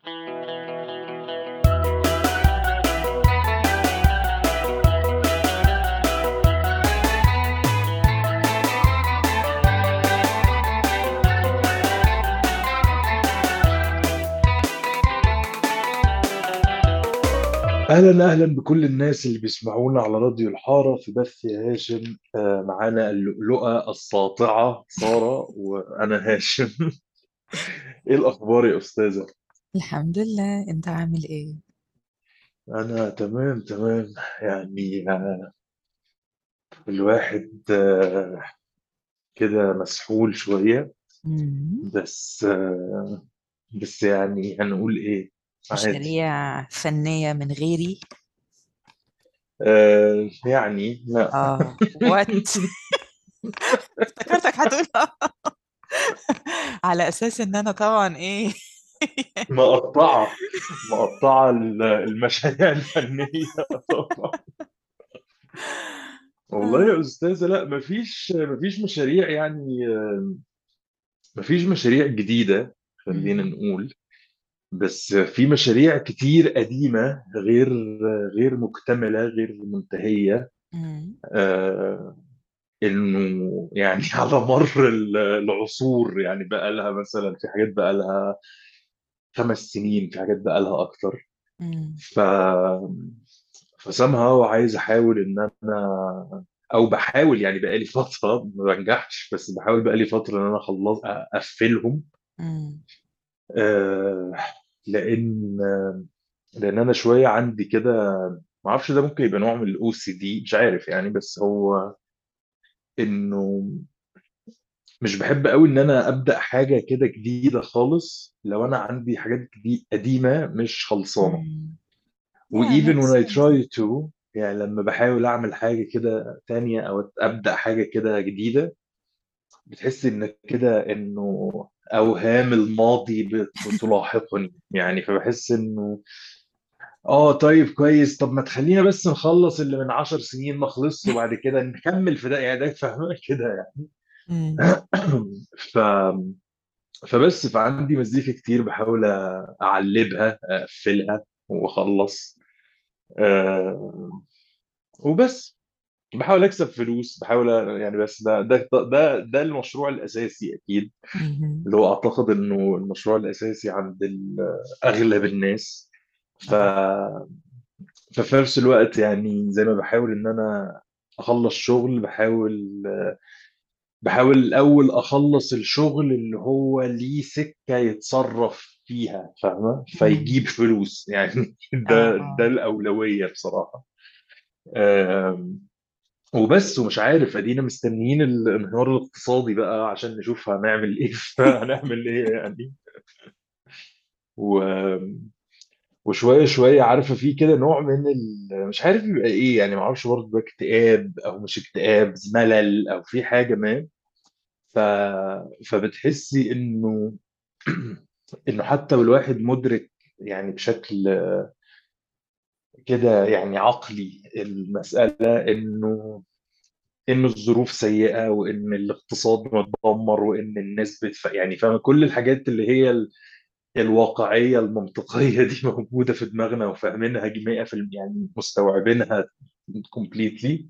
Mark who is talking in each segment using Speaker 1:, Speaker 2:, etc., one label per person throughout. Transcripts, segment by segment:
Speaker 1: أهلا أهلا بكل الناس اللي بيسمعونا على راديو الحارة في بث يا هاشم. معانا اللؤلؤة الساطعة سارة وأنا هاشم. إيه الأخبار يا أستاذة؟
Speaker 2: الحمد لله، انت عامل ايه؟
Speaker 1: أنا تمام تمام. يعني الواحد كده مسحول شوية.
Speaker 2: مم.
Speaker 1: بس بس يعني هنقول إيه؟ عادي.
Speaker 2: مشاريع فنية من غيري.
Speaker 1: يعني لا.
Speaker 2: وات. افتكرتك هتقول على اساس ان انا طبعا ايه.
Speaker 1: مقطعة مقطعة المشاريع الفنية طبعا. والله
Speaker 2: آه.
Speaker 1: يا أستاذة، لا مفيش مشاريع يعني. مفيش مشاريع جديدة، خلينا
Speaker 2: مم.
Speaker 1: نقول. بس في مشاريع كتير قديمة، غير مكتملة، غير منتهية.
Speaker 2: مم.
Speaker 1: آه، إنه يعني على مر العصور، يعني بقى لها مثلا في حاجات بقى لها 5 سنين، في حاجات بقى لها أكتر.
Speaker 2: مم.
Speaker 1: ف فسامها عايز أحاول إن أنا، او بحاول يعني بقالي فتره ما بنجحش، بس بحاول بقالي فتره ان انا اخلص اقفلهم.
Speaker 2: مم.
Speaker 1: آه، لان لان انا شويه عندي كده. ما اعرفش، ده ممكن يبقى نوع من الاو سي دي، مش عارف يعني. بس هو انه مش بحب قوي ان انا ابدا حاجه كده جديده خالص لو انا عندي حاجات قديمه مش خلصانه.
Speaker 2: مم.
Speaker 1: و
Speaker 2: Yeah,
Speaker 1: even
Speaker 2: makes
Speaker 1: when I
Speaker 2: sense.
Speaker 1: try to، يعني لما بحاول اعمل حاجه كده تانية او ابدا حاجه كده جديده، بتحس انك كده انه اوهام الماضي بتلاحقني يعني. فبحس انه طيب كويس، طب ما تخلينا بس نخلص اللي من 10 سنين ما خلصش وبعد كده نكمل في ده، يعني ده فاهمة كده يعني.
Speaker 2: مم.
Speaker 1: ف... فعندي مزيكا كتير بحاول اعلبها اقفلها واخلص. أه... وبس بحاول اكسب فلوس، بحاول يعني. بس ده المشروع الاساسي اكيد،
Speaker 2: مم.
Speaker 1: اللي هو اعتقد انه المشروع الاساسي عند اغلب الناس. ف
Speaker 2: اه.
Speaker 1: ففي نفس الوقت يعني زي ما بحاول ان انا اخلص شغل، بحاول الاول اخلص الشغل اللي هو ليه سكة يتصرف فيها، فاهمة؟
Speaker 2: مم.
Speaker 1: فيجيب فلوس يعني. ده
Speaker 2: اه.
Speaker 1: الأولوية بصراحة. آم، وبس. ومش عارف، ادينا مستنيين الانهيار الاقتصادي بقى عشان نشوف هنعمل ايه. هنعمل ايه يعني. و... وشويه شويه عارفه في كده نوع من مش عارف يبقى ايه يعني. ما اعرفش برضه ده اكتئاب او مش اكتئاب، ملل او في حاجه ما. ف... فبتحسي انه انه حتى والواحد مدرك يعني بشكل كده يعني عقلي المساله، انه الظروف سيئه، وان الاقتصاد متدمر، وان الناس يعني فاهمه كل الحاجات اللي هي الواقعية المنطقية دي موجودة في دماغنا وفاهمينها 100%، يعني مستوعبينها completely.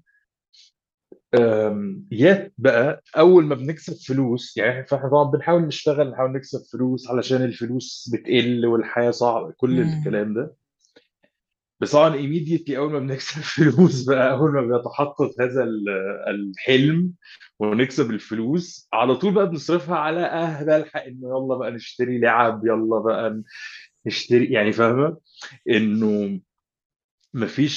Speaker 1: يات بقى أول ما بنكسب فلوس يعني، فاحنا طبعا بنحاول نشتغل، نحاول نكسب فلوس علشان الفلوس بتقل والحياة صعبة، كل
Speaker 2: مم.
Speaker 1: الكلام ده. بس طبعا immediately أول ما بنكسب فلوس بقى، أول ما بيتحقق هذا الحلم ونكسب الفلوس، على طول بقى بنصرفها على بلحق إنه يلا بقى نشتري لعب، يلا بقى نشتري، يعني فاهمة؟ انه مفيش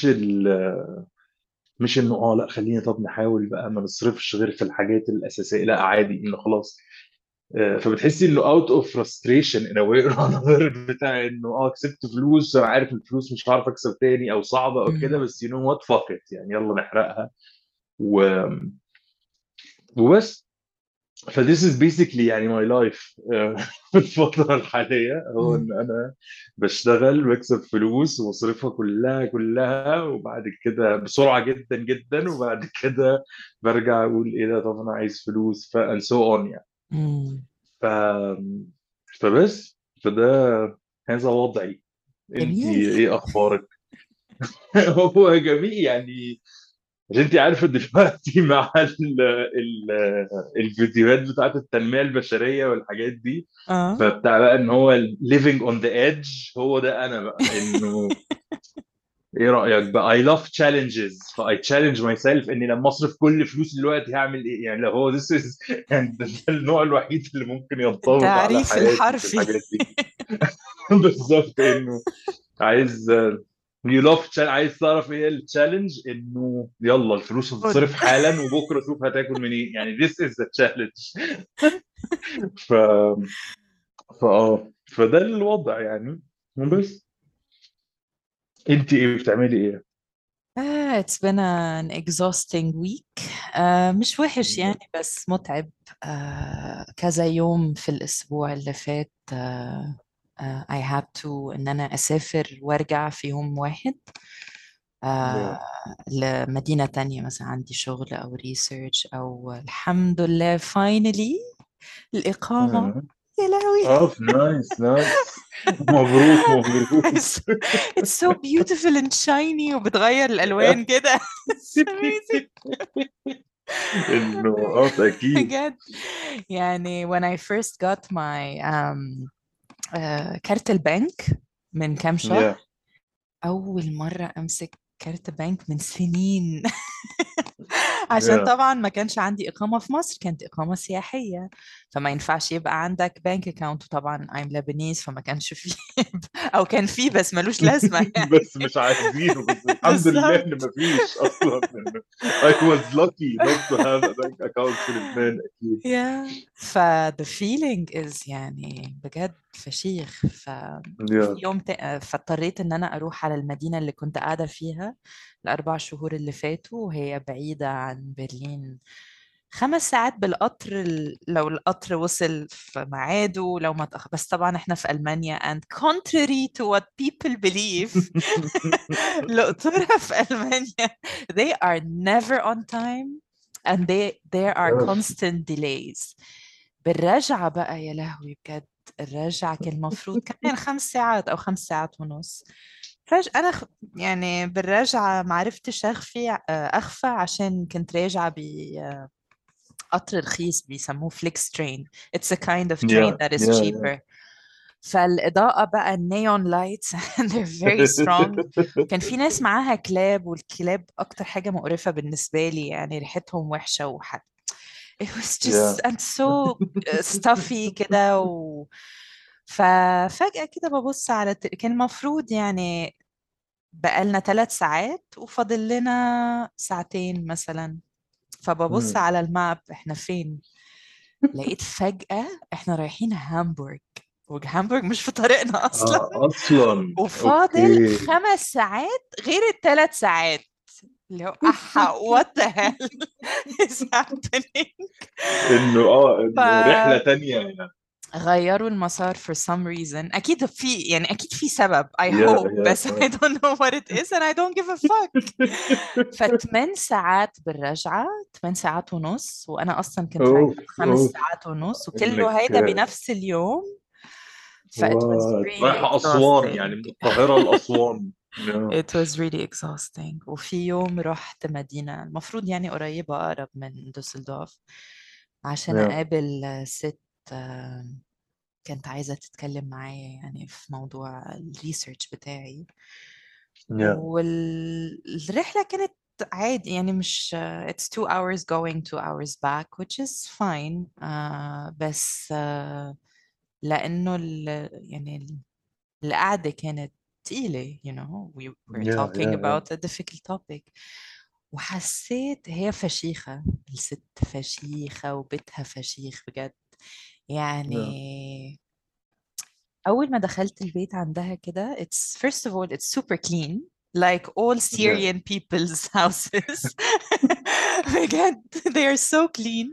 Speaker 1: مش انه لا خلينا طب نحاول بقى ما نصرفش غير في الحاجات الاساسيه، لا عادي انه خلاص. فبتحسي انه اوت اوف frustration in a way or another، بتاع انه كسبت فلوس، انا عارف الفلوس مش هعرف اكسب تاني او صعبه او كده،
Speaker 2: مم.
Speaker 1: بس you know what fuck it يعني، يلا نحرقها. و... وبس. ف this is basically يعني my life. في الفترة الحالية هو
Speaker 2: مم.
Speaker 1: إن أنا بشتغل واكسب فلوس واصرفها كلها كلها، وبعد كده بسرعة جدا جدا، وبعد كده برجع أقول إيه ده، طب أنا عايز فلوس، and so on يعني.
Speaker 2: مم.
Speaker 1: ف... فبس. فده هذا وضعي. انت
Speaker 2: جميل.
Speaker 1: ايه اخبارك؟ هو جميل يعني. عشان انت عارفه دلوقتي مع الفيديوهات بتاعت التنميه البشريه والحاجات دي،
Speaker 2: اه.
Speaker 1: فبتاع بقى ان هو living on the edge، هو ده انا بقى. انه ايه رايك بقى؟ I love challenges، ف I challenge myself اني لما اصرف كل فلوسي دلوقتي هعمل ايه. يعني لو هو this is يعني ده النوع الوحيد اللي ممكن ينطبق على
Speaker 2: التعريف
Speaker 1: حياتي في
Speaker 2: الحرفي.
Speaker 1: الحاجات دي. بالظبط. انه عايز عايز تعرف ايه التشالنج؟ انه يلا الفلوس
Speaker 2: خد.
Speaker 1: هتتصرف حالا وبكره شوف هتاكل منين. يعني this is the challenge. ف فده الوضع يعني. بس انت ايه بتعملي ايه؟
Speaker 2: It's been an exhausting week. مش وحش يعني بس متعب. كذا يوم في الأسبوع اللي فات. I had to إن أنا أسافر وأرجع في يوم واحد.
Speaker 1: Yeah.
Speaker 2: آه لمدينة تانية، مثلا عندي شغل أو ريسيرش، أو الحمد لله finally الإقامة.
Speaker 1: آه.
Speaker 2: يا لهوي.
Speaker 1: نايس نايس. مبروك مبروك.
Speaker 2: it's, it's so beautiful and shiny وبتغير الألوان كده. It's amazing.
Speaker 1: انه اكيد.
Speaker 2: بجد. يعني when I first got my كارت البنك من كام شهر،
Speaker 1: يا
Speaker 2: أول مرة أمسك كارت بنك من سنين. عشان
Speaker 1: يا
Speaker 2: طبعا ما كانش عندي إقامة في مصر، كانت إقامة سياحية، فما ينفعش يبقى عندك بنك أكاونت. وطبعا I'm Lebanese فما كانش فيه. أو كان فيه بس ملوش لازمة يعني.
Speaker 1: بس مش عايزينه. بس الحمد لله ان
Speaker 2: بالظبط.
Speaker 1: مفيش اصلا. إنه I was lucky not to have a bank account في لبنان اكيد.
Speaker 2: yeah. the feeling is يعني بجد فشيخ. في
Speaker 1: يا
Speaker 2: يوم فاضطريت ان انا اروح على المدينة اللي كنت قاعدة فيها ال4 شهور اللي فاتوا، وهي بعيدة عن برلين 5 ساعات بالقطر. لو القطر وصل في ميعاده، لو ما تأخر. بس طبعا احنا في ألمانيا and contrary to what people believe. القطورة في ألمانيا they are never on time and there are constant delays. بالرجعة بقى يا لهوي بجد. الرجعة كان المفروض كمان 5 ساعات أو 5 ساعات ونص. فجأة أنا يعني بالرجعة معرفتش أخفى عشان كنت راجعة بقطر رخيص بيسموه فليكس ترين. It's a kind of train
Speaker 1: يا
Speaker 2: that is
Speaker 1: يا
Speaker 2: cheaper. فالإضاءة بقى النيون لايتس and they're very strong. كان في ناس معاها كلاب، والكلاب أكتر حاجة مقرفة بالنسبة لي، يعني ريحتهم وحشة it was just
Speaker 1: يا
Speaker 2: and so stuffy كده ففجأة كده ببص على كان المفروض يعني بقالنا 3 ساعات وفاضل لنا ساعتين مثلا. فببص على الماب احنا فين، لقيت فجأة احنا رايحين هامبورغ، وهامبورغ مش في طريقنا أصلا.
Speaker 1: اصلا
Speaker 2: وفاضل
Speaker 1: اوكي.
Speaker 2: 5 ساعات غير ال3 ساعات. اللي هو what the hell is happening.
Speaker 1: انه انه رحله تانية يعني.
Speaker 2: فغيروا المسار for some reason. أكيد في يعني أكيد في سبب I
Speaker 1: يا
Speaker 2: hope
Speaker 1: يا
Speaker 2: بس I don't know what it is and I don't give a fuck. ف8 ساعات بالرجعة، 8 ساعات ونص، وأنا أصلا كنت رايحة
Speaker 1: اوف
Speaker 2: خمس
Speaker 1: اوف.
Speaker 2: ساعات ونص
Speaker 1: انك
Speaker 2: وكله هيدا بنفس اليوم. it was really
Speaker 1: رايحه اسوان
Speaker 2: exhausting.
Speaker 1: يعني، من القاهره لاسوان. يا
Speaker 2: it was really exhausting. وفي يوم رحت مدينة المفروض يعني قريبة أقرب من دوسلدورف عشان
Speaker 1: يا
Speaker 2: أقابل ست آه، كانت عايزة تتكلم معايا يعني في موضوع الريسيرش بتاعي.
Speaker 1: يا
Speaker 2: والرحلة كانت عادي يعني، مش it's 2 hours going 2 hours back which is fine. بس لأنه يعني القعدة كانت تقيلة you know we were talking
Speaker 1: يا
Speaker 2: about a difficult topic. وحسيت هي فشيخة الست، فشيخة وبيتها فشيخ بجد
Speaker 1: يا
Speaker 2: يعني. أول ما دخلت البيت عندها كده it's first of all it's super clean like all
Speaker 1: يا
Speaker 2: Syrian people's houses. بجد they are so clean.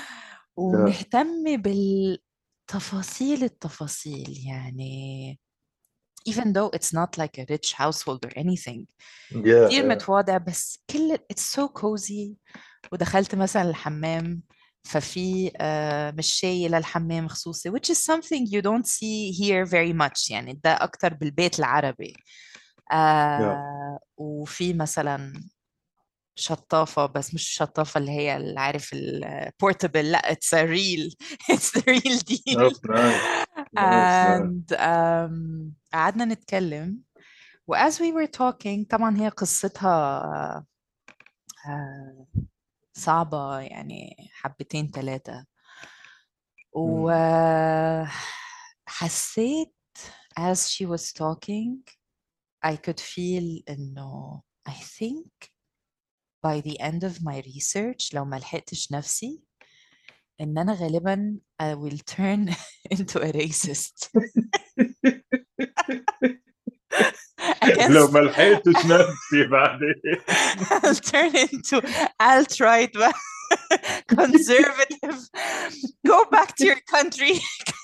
Speaker 1: يا
Speaker 2: ومهتم بالتفاصيل التفاصيل يعني even though it's not like a rich household or anything. كتير
Speaker 1: يا
Speaker 2: متواضع بس كل it's so cozy. ودخلت مثلا الحمام ففي مشاية للحمام خصوصي which is something you don't see here very much، يعني ده أكتر بالبيت العربي.
Speaker 1: yeah.
Speaker 2: وفي مثلا شطافة، بس مش شطافة اللي هي اللي عارف البورتبل، لا it's a real it's the real
Speaker 1: Oh,
Speaker 2: deal.
Speaker 1: nice. Nice, nice.
Speaker 2: and قعدنا نتكلم و as we were talking طبعا هي قصتها آه، صعبة يعني حبتين ثلاثة،
Speaker 1: Mm.
Speaker 2: وحسيت as she was talking I could feel إنه I think by the end of my research لو ما لحقتش نفسي إن أنا غالبا I will turn into a racist
Speaker 1: لو
Speaker 2: against
Speaker 1: ما لحقتش نفسي بعدين.
Speaker 2: I'll turn into alt-right conservative. Go back to your country.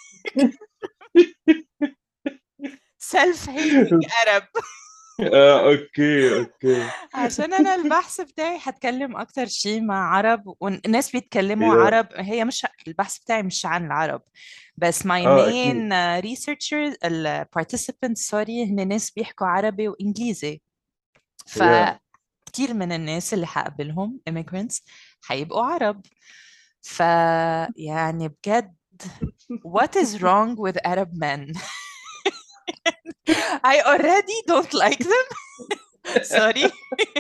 Speaker 2: Self-hating Arab.
Speaker 1: اوكي اوكي.
Speaker 2: عشان انا البحث بتاعي هتكلم اكتر شيء مع عرب والناس بيتكلموا
Speaker 1: يا
Speaker 2: عرب، هي مش البحث بتاعي مش عن العرب بس my
Speaker 1: اه
Speaker 2: main
Speaker 1: اكيد.
Speaker 2: researchers ال participants سوري هن ناس بيحكوا عربي وانجليزي،
Speaker 1: يا
Speaker 2: فكتير من الناس اللي هقابلهم immigrants هيبقوا عرب. فيعني بجد what is wrong with Arab men? I already don't like them. Sorry.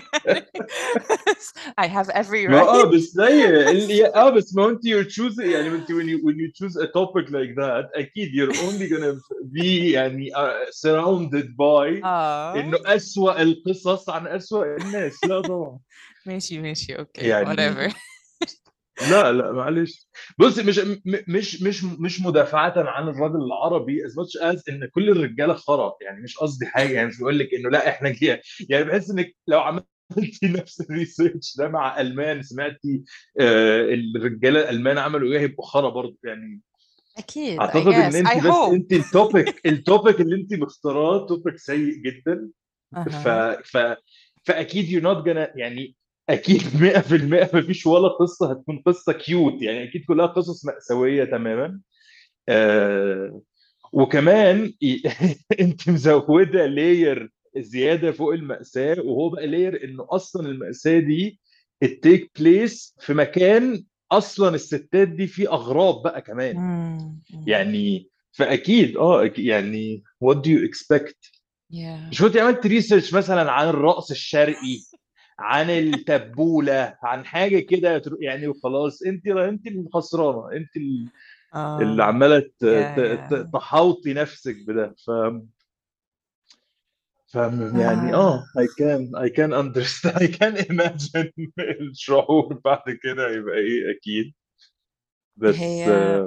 Speaker 2: I have every
Speaker 1: ما
Speaker 2: right.
Speaker 1: بس زي بس ما انت you choose يعني انت when you choose a topic like that اكيد you're only gonna be يعني surrounded by انه
Speaker 2: اه
Speaker 1: اسوأ القصص عن اسوأ الناس. لا طبعا.
Speaker 2: ماشي ماشي اوكي
Speaker 1: يعني
Speaker 2: whatever.
Speaker 1: لا لا معلش. بص مش مدافعة عن الراجل العربي as much as ان كل الرجاله خرا، يعني مش قصدي حاجه، يعني مش بقول لك انه لا احنا كده. يعني بحس انك لو عملتي نفس الريسيرش ده مع المان سمعتي الرجاله الالمان عملوا ايه هيبقوا خرا برضه يعني.
Speaker 2: أكيد I
Speaker 1: اعتقد ان
Speaker 2: guess I
Speaker 1: انت بس
Speaker 2: hope.
Speaker 1: انت التوبيك اللي انت مختاراه توبيك سيء جدا. ف
Speaker 2: أها
Speaker 1: ف فاكيد you're not gonna يعني اكيد 100% مفيش ولا قصه هتكون قصه كيوت، يعني اكيد كلها قصص مأساويه تماما. وكمان انت مزوده لاير زياده فوق المأساة، وهو بقى لاير انه اصلا المأساة دي التيك بليس في مكان اصلا الستات دي فيه اغراب بقى كمان.
Speaker 2: مم، مم.
Speaker 1: يعني فاكيد يعني what do you expect.
Speaker 2: yeah
Speaker 1: مش كنت عملت ريسيرش مثلا عن الرقص الشرقي، عن التبولة، عن حاجة كده يعني وخلاص؟ انت اللي خسرانة، انت اللي
Speaker 2: آه
Speaker 1: عمالة
Speaker 2: yeah yeah
Speaker 1: تحاوطي نفسك بده. ف يعني
Speaker 2: آه
Speaker 1: I can understand I can imagine الشعور بعد كده يبقى ايه اكيد. بس
Speaker 2: هي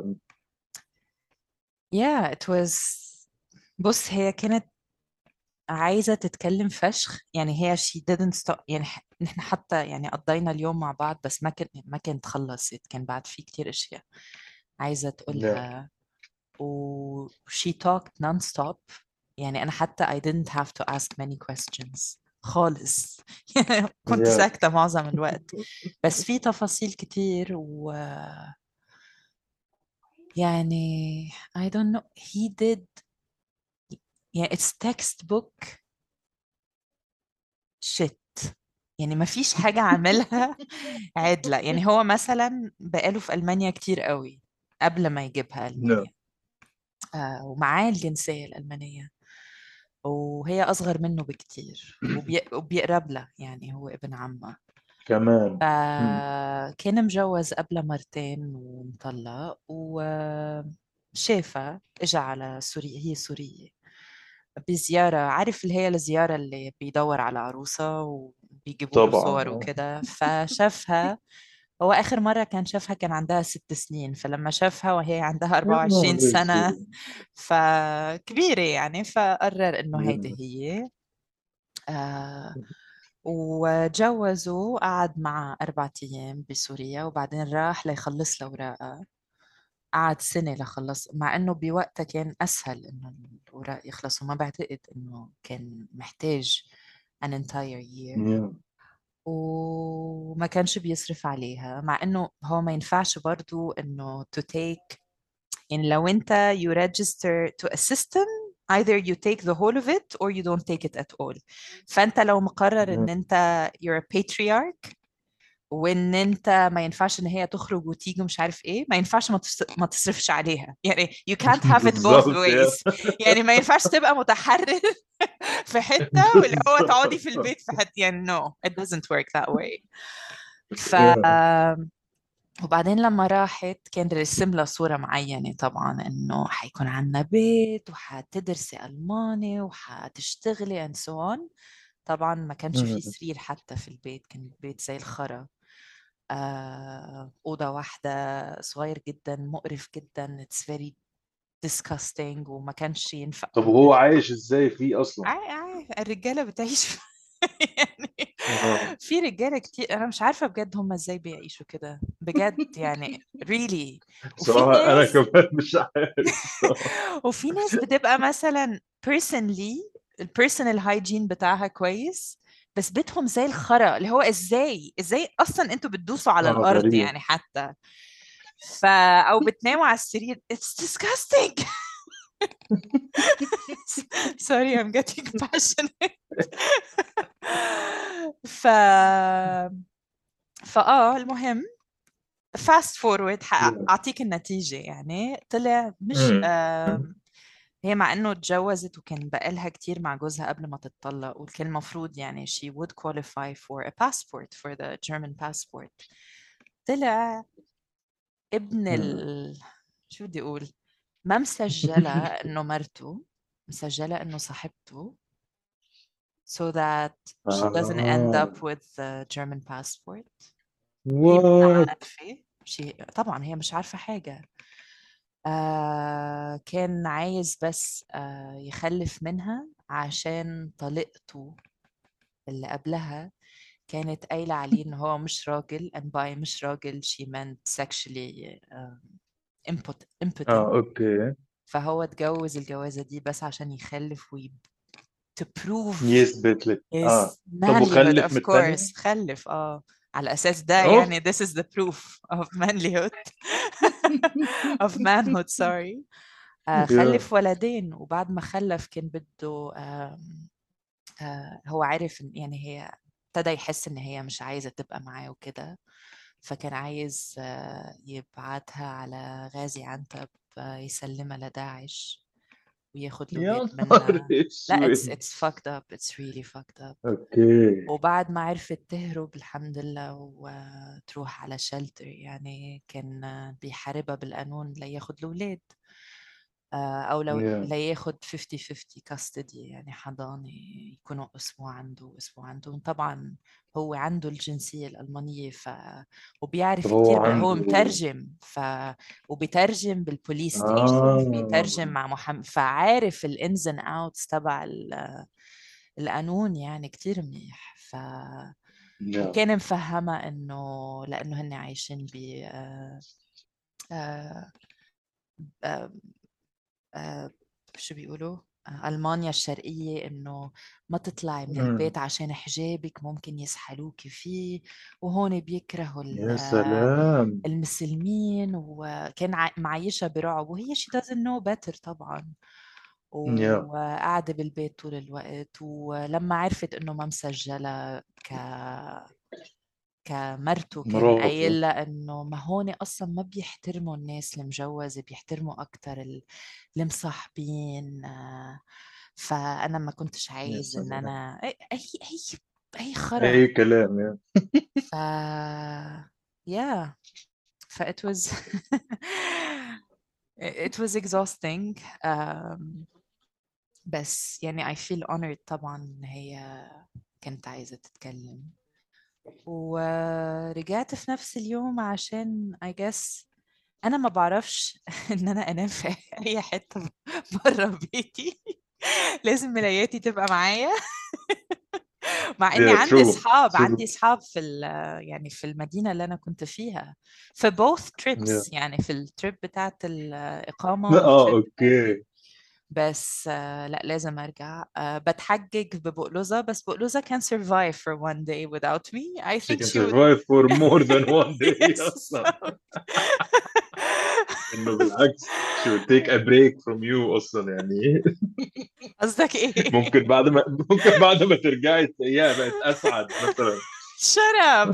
Speaker 2: yeah it was بص هي كانت عايزة تتكلم فشخ، يعني هي she didn't stop، يعني نحن حتى يعني قضينا اليوم مع بعض بس ما كانت خلصت، كان بعد في كتير اشياء عايزة
Speaker 1: لا
Speaker 2: تقولها و she talked non-stop. يعني أنا حتى I didn't have to ask many questions خالص. يعني كنت
Speaker 1: يا
Speaker 2: ساكتة معظم الوقت بس في تفاصيل كتير و يعني I don't know he did، يعني it's textbook shit، يعني ما فيش حاجة عملها عدلة. يعني هو مثلا بقاله في ألمانيا كتير قوي قبل ما يجيبها
Speaker 1: لا
Speaker 2: ألمانيا، ومعاه الجنسية الألمانية وهي أصغر منه بكتير وبيقرب لها، يعني هو ابن عمها.
Speaker 1: كمان. مم.
Speaker 2: فكان مجوز قبل مرتين ومطلق وشافها اجى على سوريا، هي سورية، بزيارة، عارف اللي هي الزيارة اللي بيدور على عروسة وبيجيبوا له
Speaker 1: طبعا
Speaker 2: صور وكده، فشافها. هو آخر مرة كان شافها كان عندها 6 سنين، فلما شافها وهي عندها
Speaker 1: يا نهار
Speaker 2: 24 سنة
Speaker 1: اسود.
Speaker 2: فكبيرة يعني، فقرر إنه هيدي
Speaker 1: يا
Speaker 2: هي. آه وجوزوا، قعد مع 4 أيام بسوريا وبعدين راح ليخلص له أوراقها. قعد سنة لخلص، مع إنه بوقتها كان أسهل إنه الأوراق يخلصوا، ما بعتقد إنه كان محتاج an entire year.
Speaker 1: يا
Speaker 2: وما كانش بيصرف عليها، مع انه هو ما ينفعش برضو انه to take، يعني لو انت you register to a system either you take the whole of it or you don't take it at all. فانت لو مقرر ان انت you're a patriarch وان انت ما ينفعش ان هي تخرج وتيجي مش عارف ايه، ما ينفعش ما تصرفش عليها، يعني you can't have it both
Speaker 1: بالظبط يا.
Speaker 2: ways. يعني ما ينفعش تبقى متحرر في حتة واللي هو تقعدي في
Speaker 1: بالظبط
Speaker 2: البيت في حتة، يعني no it doesn't work that way. ف
Speaker 1: يا.
Speaker 2: وبعدين لما راحت كان رسم لها صورة معينة طبعا إنه حيكون عنا بيت وحتدرسي ألماني وحتشتغلي and so on. طبعا ما كانش فيه سرير حتى في البيت، كان البيت زي الخرا. أوضة واحدة، صغير جدا، مقرف جدا، it's very disgusting، وما كانش ينفع.
Speaker 1: طب هو عايش ازاي فيه اصلا؟
Speaker 2: الرجالة بتعيش يعني
Speaker 1: اه
Speaker 2: في رجالة كتير أنا مش عارفة بجد هم إزاي بيعيشوا كده بجد يعني really. وفي
Speaker 1: بصراحة انا
Speaker 2: ناس
Speaker 1: كمان مش عارف الصراحة.
Speaker 2: وفي ناس بتبقى مثلا personally البيرسونال هايجين بتاعها كويس، بس بيتهم زي الخرا، اللي هو ازاي اصلا انتوا بتدوسوا على
Speaker 1: اه
Speaker 2: الارض
Speaker 1: غريب.
Speaker 2: يعني حتى او بتناموا على السرير it's disgusting. sorry I'm getting passionate. ف المهم fast forward اعطيك النتيجة، يعني طلع مش
Speaker 1: امم
Speaker 2: هي مع انه اتجوزت وكان بقالها كتير مع جوزها قبل ما تتطلق، وكان المفروض يعني she would qualify for a passport for the German passport. طلع ابن شو بدي اقول، ما مسجلة انه مرته، مسجلة انه صاحبته so that she doesn't end
Speaker 1: اه
Speaker 2: up with the German passport. هي ما
Speaker 1: وات.
Speaker 2: عارفة شيء طبعا، هي مش عارفة حاجة. كان عايز بس يخلف منها عشان طليقته اللي قبلها كانت قايلة عليه إن هو مش راجل and by مش راجل she meant sexually impotent.
Speaker 1: اه اوكي.
Speaker 2: فهو اتجوز الجوازة دي بس عشان يخلف to prove
Speaker 1: يثبت لك
Speaker 2: his
Speaker 1: اه. طب
Speaker 2: manlyhood
Speaker 1: وخلف
Speaker 2: of
Speaker 1: من التانية؟
Speaker 2: course. خلف على أساس ده
Speaker 1: اوف.
Speaker 2: يعني this is the proof of manlyhood of manhood sorry.
Speaker 1: يا.
Speaker 2: خلف ولدين، وبعد ما خلف كان بده هو عارف يعني هي ابتدى يحس ان هي مش عايزة تبقى معاه وكده، فكان عايز يبعتها على غازي عنتب يسلمها لداعش وياخد
Speaker 1: يا
Speaker 2: الأولاد
Speaker 1: نهار
Speaker 2: منها. لا
Speaker 1: اسود.
Speaker 2: it's fucked up, it's really fucked up.
Speaker 1: اوكي.
Speaker 2: وبعد ما عرفت تهرب الحمد لله وتروح على شلتر، يعني كان بيحاربها بالقانون لياخد الأولاد، أو لو
Speaker 1: يا.
Speaker 2: لياخد 50-50 كاستدي، يعني حضانة يكونوا أسبوع عنده وأسبوع عنده. طبعا هو عنده الجنسية الألمانية
Speaker 1: طب
Speaker 2: وبيعرف
Speaker 1: هو
Speaker 2: كتير هو
Speaker 1: عنده.
Speaker 2: مترجم وبيترجم بالبوليس ستيشن،
Speaker 1: اه
Speaker 2: بيترجم مع محمد، فعارف الانز اند اوتس تبع القانون يعني كتير منيح.
Speaker 1: يا.
Speaker 2: وكان مفهمة انه لانه هن عايشين ب آه، آه، شو بيقولوا ألمانيا الشرقية، إنه ما تطلعي من
Speaker 1: مم.
Speaker 2: البيت عشان حجابك ممكن يسحلوكي فيه، وهون بيكرهوا
Speaker 1: يا سلام.
Speaker 2: المسلمين، وكان معيشة برعب، وهي she doesn't know better طبعا.
Speaker 1: يا.
Speaker 2: وقاعدة بالبيت طول الوقت، ولما عرفت إنه ما مسجلة كمرته كان
Speaker 1: مراته.
Speaker 2: قايل لها انه ما هون اصلا ما بيحترموا الناس المجوزه، بيحترموا اكثر المصاحبين. فانا ما كنتش
Speaker 1: يا
Speaker 2: عايز ان
Speaker 1: سلام.
Speaker 2: انا اي خرا.
Speaker 1: اي كلام يا.
Speaker 2: ف yeah ف it was it was exhausting. بس يعني I feel honored طبعا إن هي كانت عايزة تتكلم. ورجعت في نفس اليوم عشان I guess أنا ما بعرفش إن أنا أنام في أي حتة بره بيتي. لازم ملاياتي تبقى معايا. مع إني
Speaker 1: يا
Speaker 2: عندي
Speaker 1: ترو.
Speaker 2: أصحاب،
Speaker 1: ترو.
Speaker 2: عندي أصحاب يعني في المدينة اللي أنا كنت فيها في both
Speaker 1: يا.
Speaker 2: trips، يعني في التريب بتاعت الإقامة
Speaker 1: اه
Speaker 2: والتريب
Speaker 1: اوكي.
Speaker 2: بس لا لازم أرجع. بتحجج ببقلوزة، بس بقلوزة can survive for one day without me. I
Speaker 1: She
Speaker 2: think
Speaker 1: can
Speaker 2: she would.
Speaker 1: survive for more than one day
Speaker 2: Yes.
Speaker 1: اصلا. انه بالعكس she would take a break from you اصلا يعني.
Speaker 2: قصدك إيه؟
Speaker 1: ممكن بعد ما ترجعي تلاقيها بقت اسعد مثلا.
Speaker 2: Shut up.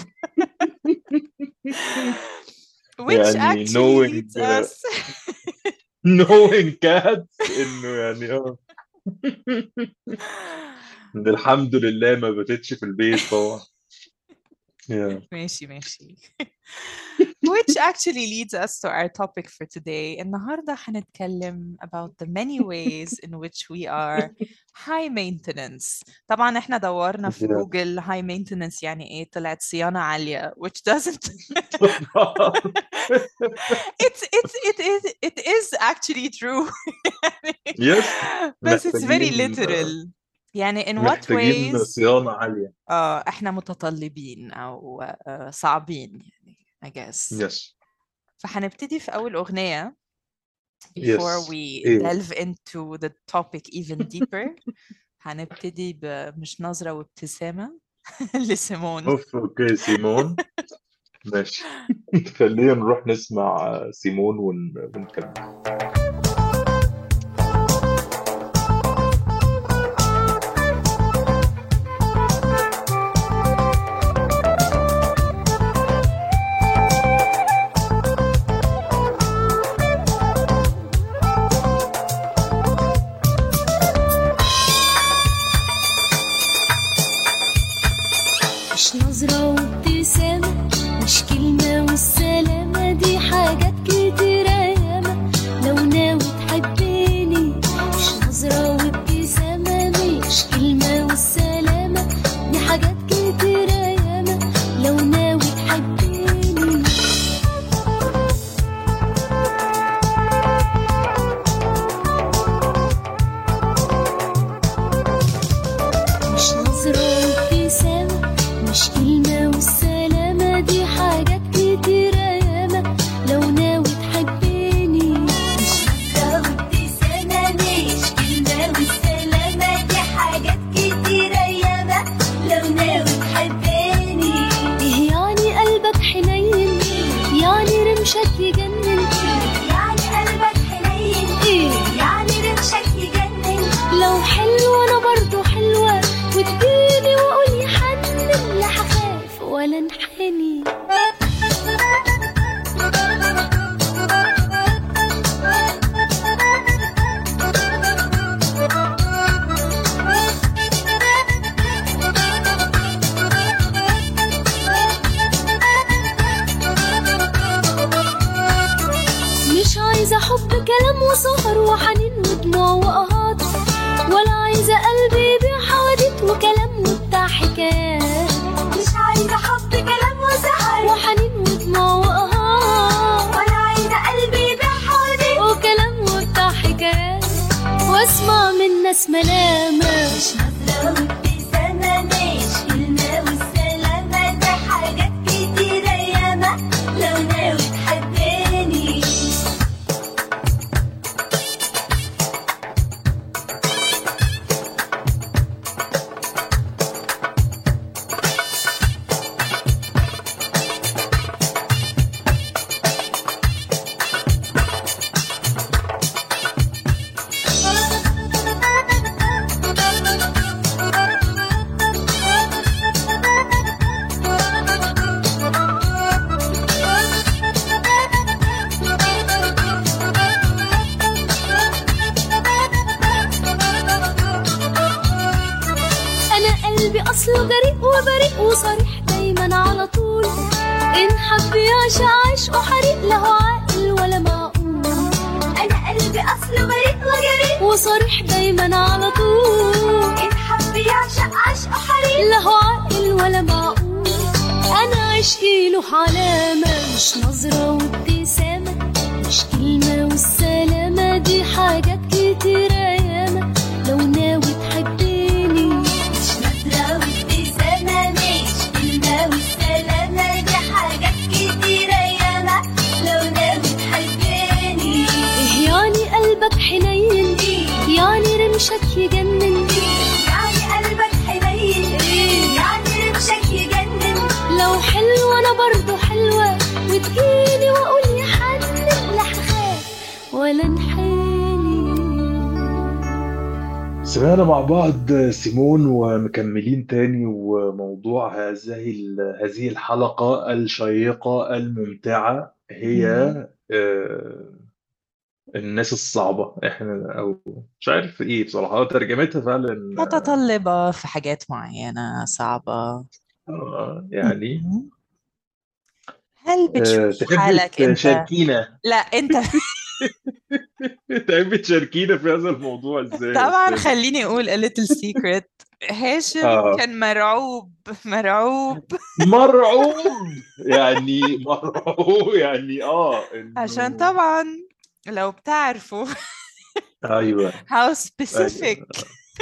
Speaker 2: Which
Speaker 1: يعني
Speaker 2: actually
Speaker 1: knowing
Speaker 2: leads us.
Speaker 1: knowing cats انه يعني إن الحمد لله ما باتتش في البيت طبعا. Yeah.
Speaker 2: ماشي ماشي. Which actually leads us to our topic for today. النهاردة هنتكلم about the many ways in which we are high maintenance. طبعا احنا دورنا في
Speaker 1: Yeah.
Speaker 2: جوجل high maintenance يعني ايه، طلعت صيانة عالية which doesn't. It is actually true.
Speaker 1: Yes.
Speaker 2: بس it's very
Speaker 1: محتاجين
Speaker 2: literal. يعني in what
Speaker 1: محتاجين
Speaker 2: ways
Speaker 1: صيانة عالية.
Speaker 2: احنا متطلبين او صعبين يعني I guess.
Speaker 1: Yes.
Speaker 2: فهنبتدي في أول أغنية before
Speaker 1: Yes.
Speaker 2: we
Speaker 1: ايه.
Speaker 2: delve into the topic even deeper. هنبتدي بمش نظرة وابتسامة لسيمون.
Speaker 1: اوكي سيمون. ماشي. خلينا نروح نسمع سيمون ونكمل.
Speaker 3: مش نظرة وابتسامة، مش كلمة والسلامة، دي حاجات كتيرة ياما لو ناوي تحبني. مش نظرة وابتسامة، مش كلمة والسلامة، دي حاجات كتيرة ياما لو ناوي تحبني. مش نظرة وابتسامة، مش كلمة والسلامة، دي حاجات كتيرة ياما لو ناوي تحبني. مش نظرة وابتسامة، مش كلمة والسلامة، دي حاجات كتيرة ياما لو ناوي تحبني. إيه يعني قلبك حنين، يعني رمشك يجنن، يعني قلبك حنين، إيه يعني رمشك يجنن. لو حلوة أنا برضو حلوة، وتجيني وأقول يحنن، لا هخاف ولا انحني. مش عايزة حب كلام وسهر وحنين ودموع وقهات، ولا عايزة قلبي يبيع حواديت وكلام وبتاع حكايات. مش عايزة حب كلام وسهر وحنين ودموع وقهات، ولا عايزة قلبي يبيع حواديت وكلام وبتاع حكايات، واسمع من ناس ملامة. مش نظرة وابتسامة، مش كلمة والسلامة، دي حاجات كتيرة ياما لو ناوي تحبني. أنا قلبي أصله جريء وبريء وصريح دايما على طول، إن حب يعشق عشقه حريق، له عاقل ولا معقول. أنا قلبي أصله بريء وجريء وصريح دايما على طول، إن حب يعشق عشقه حريق، له عاقل ولا معقول. أنا عشقي له علامة، مش نظرة وابتسامة، مش كلمة والسلامة، دي حاجات كتيرة ياما لو ناوي تحبني. مش نظرة وابتسامة، مش كلمة والسلامة، دي حاجات كتيرة ياما لو ناوي تحبني. إيه يعني قلبك حنين، رمشك يجنن، يعني قلبك حنين، يعني رمشك يجنن. لو حلوة أنا برضو حلوة، وتجيني وأقول يا حنن، لا هخاف ولا انحني.
Speaker 1: سمعنا مع بعض سيمون ومكملين تاني، وموضوع هذه الحلقة الشيقة الممتعة هي
Speaker 2: مم.
Speaker 1: آه، الناس الصعبة. احنا او مش عارف ايه بصراحة، ترجمتها فعلا
Speaker 2: متطلبة في حاجات معينة صعبة.
Speaker 1: يعني
Speaker 2: مم. هل بتشوف
Speaker 1: تحبي
Speaker 2: حالك انت؟
Speaker 1: تشاركينا؟
Speaker 2: لا انت.
Speaker 1: تحبي تشاركينا في هذا الموضوع ازاي يا
Speaker 2: طبعا
Speaker 1: استاذ؟
Speaker 2: خليني اقول a little secret. هاشم
Speaker 1: اه،
Speaker 2: كان مرعوب مرعوب
Speaker 1: مرعوب يعني، مرعوب يعني
Speaker 2: عشان
Speaker 1: انه
Speaker 2: طبعا لو بتعرفوا
Speaker 1: ايوه،
Speaker 2: how
Speaker 1: ايوه.
Speaker 2: specific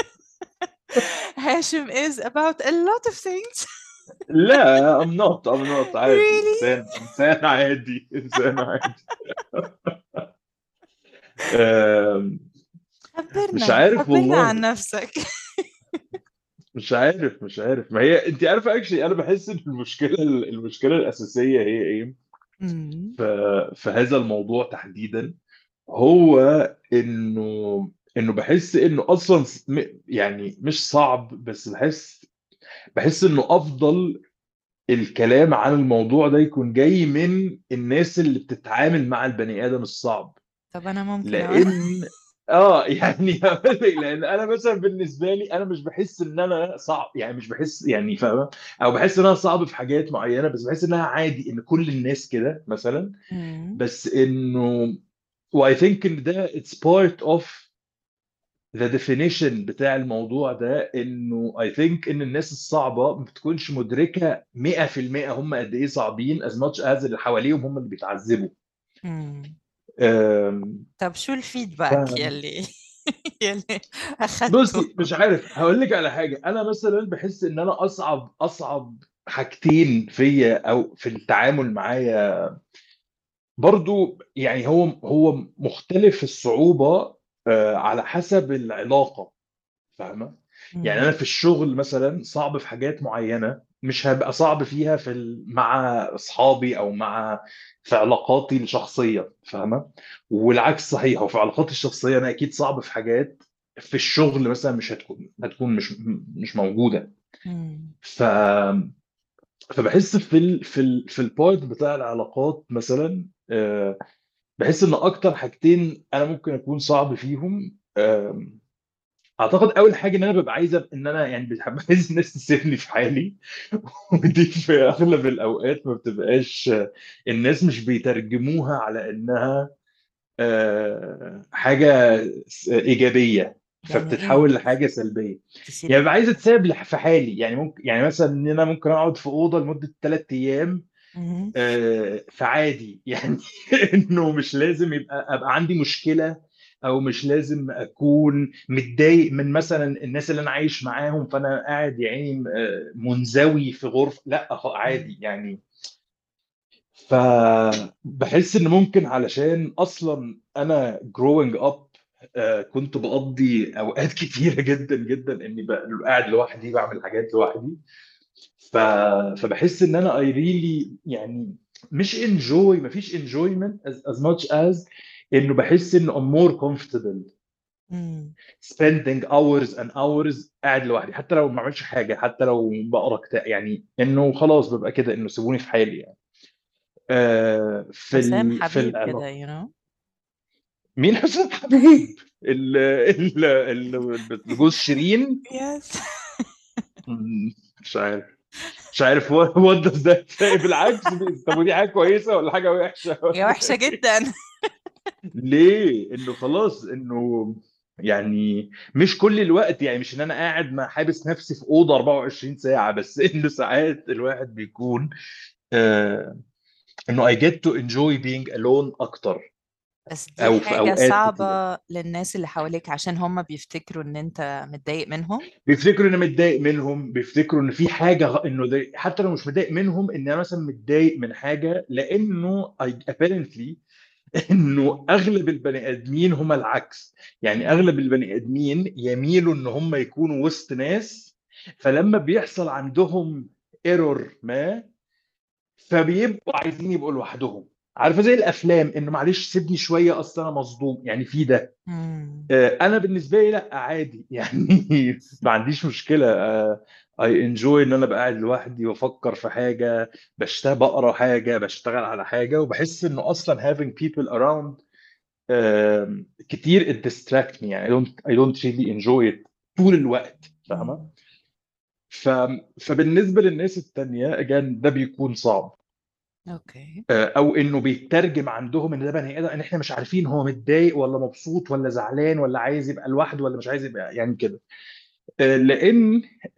Speaker 2: هاشم is about a lot of things.
Speaker 1: لا I'm not عادي،
Speaker 2: really.
Speaker 1: انسان عادي، انسان عادي. آم، مش
Speaker 2: خبرنا
Speaker 1: عارف
Speaker 2: خبرنا عن
Speaker 1: والله.
Speaker 2: نفسك.
Speaker 1: مش عارف ما هي انت عارفه اكشلي، انا بحس ان المشكله الاساسيه هي ايه
Speaker 2: مم.
Speaker 1: ف... في هذا الموضوع تحديدا. هو انه بحس انه اصلا يعني مش صعب، بس بحس انه افضل الكلام عن الموضوع ده يكون جاي من الناس اللي بتتعامل مع البني ادم الصعب.
Speaker 2: طب انا ممكن اقول.
Speaker 1: لان يعني هقول لك، لان انا مثلا بالنسبه لي انا مش بحس ان انا صعب، يعني مش بحس يعني فاهم، او بحس ان انا صعب في حاجات معينه، بس بحس انها عادي ان كل الناس كده مثلا.
Speaker 2: مم.
Speaker 1: بس انه واي ثينك ان ده اتس بارت اوف ذا ديفينيشن بتاع الموضوع ده، انه اي ثينك ان الناس الصعبه ما بتكونش مدركه 100% هم قد ايه صعبين as much as اللي حواليهم هم اللي بيتعذبوا.
Speaker 2: مم.
Speaker 1: أم،
Speaker 2: طب شو
Speaker 1: ف
Speaker 2: الفيدباك يلي يلي اخذته؟
Speaker 1: بصي، مش عارف هقول لك على حاجه. انا مثلا بحس ان انا اصعب حاجتين فيا او في التعامل معايا برضو، يعني هو مختلف الصعوبه على حسب العلاقه، فاهمه؟ يعني انا
Speaker 2: مم.
Speaker 1: في الشغل مثلا صعب في حاجات معينه، مش هبقى صعب فيها مع اصحابي او في علاقاتي الشخصيه، فاهمه؟ والعكس صحيح، وفي علاقاتي الشخصيه انا اكيد صعب في حاجات في الشغل مثلا مش هتكون مش موجوده.
Speaker 2: مم.
Speaker 1: ف فبحس في البارت بتاع العلاقات مثلا، بحس ان اكتر حاجتين انا ممكن اكون صعب فيهم. اعتقد اول حاجه ان انا ببقى عايزه ان انا يعني عايز الناس تسيبني في حالي. ودي في اغلب الاوقات ما بتبقاش، الناس مش بيترجموها على انها حاجه ايجابيه،
Speaker 2: يعني ايه
Speaker 1: فبتتحول لحاجه سلبيه. يعني
Speaker 2: تسيبني؟
Speaker 1: ببقى عايز اتساب في حالي، يعني ممكن، يعني مثلا ان انا ممكن اقعد في اوضه لمده 3 ايام،
Speaker 2: مم.
Speaker 1: فعادي يعني. انه مش لازم ابقى عندي مشكله، او مش لازم اكون متضايق من مثلا الناس اللي انا عايش معاهم، فانا قاعد يعني منزوي في غرفه، لا
Speaker 2: مم.
Speaker 1: عادي يعني. فبحس ان ممكن علشان اصلا انا growing up كنت بقضي اوقات كتيره جدا جدا اني قاعد لوحدي بعمل حاجات لوحدي. ف... فبحس ان انا I really يعني مش enjoy، مفيش enjoyment as much as انه بحس انه I'm more comfortable
Speaker 2: مم.
Speaker 1: spending hours and hours قاعد لوحدي، حتى لو ما بعملش حاجه، حتى لو بقرا كتاب، يعني انه خلاص ببقى كده، انه سيبوني في حالي يعني.
Speaker 2: حسام
Speaker 1: في
Speaker 2: حبيب كده
Speaker 1: العلاقه.
Speaker 2: you know.
Speaker 1: مين حسام حبيب؟ جوز شيرين.
Speaker 2: Yes.
Speaker 1: مش عارف، مش عارف what does that say. بالعكس، طب ودي حاجه كويسه ولا حاجه وحشه
Speaker 2: هي
Speaker 1: ولا
Speaker 2: وحشة
Speaker 1: ايه؟
Speaker 2: جدا.
Speaker 1: ليه؟ انه خلاص انه يعني مش كل الوقت، يعني مش ان انا قاعد ما حابس نفسي في اوضه 24 ساعه، بس انه ساعات الواحد بيكون آه انه I get to enjoy being alone اكتر،
Speaker 2: بس دي
Speaker 1: او في
Speaker 2: حاجة
Speaker 1: اوقات كتير
Speaker 2: صعبة للناس اللي حواليك عشان هم بيفتكروا ان انت متضايق منهم.
Speaker 1: بيفتكروا ان انا متضايق منهم، بيفتكروا ان في حاجه انه ده، حتى لو مش متضايق منهم، ان انا مثلا متضايق من حاجه، لانه apparently انه اغلب البني ادمين هم العكس. يعني اغلب البني ادمين يميلوا ان هم يكونوا وسط ناس، فلما بيحصل عندهم ايرور ما فبيبقوا عايزين يبقوا لوحدهم. عارفه زي الافلام، انه معلش سيبني شويه اصل انا مصدوم، يعني في ده.
Speaker 2: مم.
Speaker 1: انا بالنسبه لي لا عادي يعني ما عنديش مشكله. اي انجوي ان انا ابقى قاعد لوحدي وافكر في حاجه، بقرا حاجه، بشتغل على حاجه، وبحس انه اصلا having people around كتير it distract me. يعني I don't really enjoy it طول الوقت، فاهمه؟
Speaker 2: مم.
Speaker 1: ف... فبالنسبه للناس التانيه again ده بيكون صعب.
Speaker 2: اوكي.
Speaker 1: او انه بيترجم عندهم ان ده بني ادم، ان احنا مش عارفين هو متضايق ولا مبسوط ولا زعلان ولا عايز يبقى لوحده ولا مش عايز يبقى، يعني كده. لان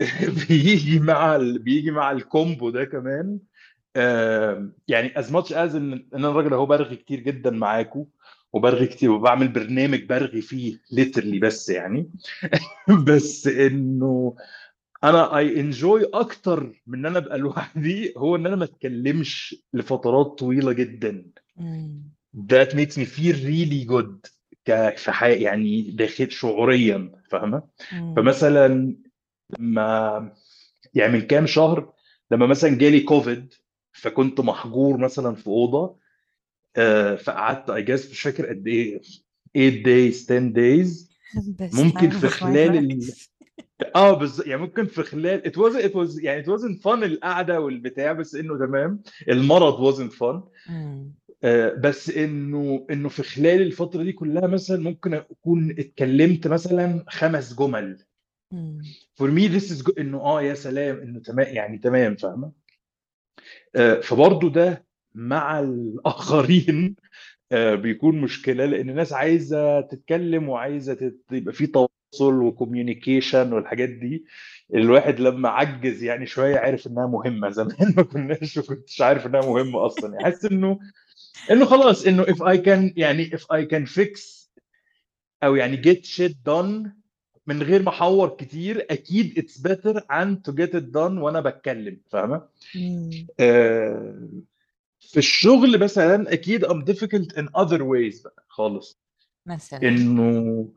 Speaker 1: بيجي مع الكومبو ده كمان. يعني as much as ان انا راجل اهو برغي كتير جدا معاكم، وبرغي كتير وبعمل برنامج برغي فيه literally، بس يعني بس انه انا اي انجوي اكتر من ان انا ابقى لوحدي، هو ان انا ما اتكلمش لفترات طويله جدا.
Speaker 2: مم.
Speaker 1: that makes me feel really good في حياتي، يعني داخل شعوريا، فاهمه؟
Speaker 2: مم.
Speaker 1: فمثلا ما يعني من كام شهر لما مثلا جالي كوفيد، فكنت محجور مثلا في اوضه. فقعدت I guess مش فاكر قد ايه، 8 days 10 days.
Speaker 2: best
Speaker 1: ممكن
Speaker 2: time
Speaker 1: في
Speaker 2: of my
Speaker 1: خلال
Speaker 2: life.
Speaker 1: يعني ممكن في خلال it was يعني it wasn't fun القعده والبتاع، بس انه تمام. المرض wasn't fun.
Speaker 2: مم.
Speaker 1: بس انه في خلال الفتره دي كلها مثلا ممكن اكون اتكلمت مثلا 5 جمل.
Speaker 2: مم.
Speaker 1: for me this is good، انه يا سلام، انه تمام، يعني تمام، فاهمه؟ فبرضه ده مع الاخرين بيكون مشكله، لان الناس عايزه تتكلم وعايزه يبقى في تواصل وكوميونيكيشن والحاجات دي. الواحد لما عجز يعني شويه عرف انها مهمه. زمان ما كنتش عارف انها مهمه اصلا. يعني حاسس انه خلاص، انه if I can يعني if I can fix او يعني get shit done من غير ما احور كتير، اكيد it's better and to get it done وانا بتكلم، فاهمه؟
Speaker 2: مم.
Speaker 1: آه، في الشغل مثلا اكيد I'm difficult in other ways بقى خالص.
Speaker 2: مثلا.
Speaker 1: انه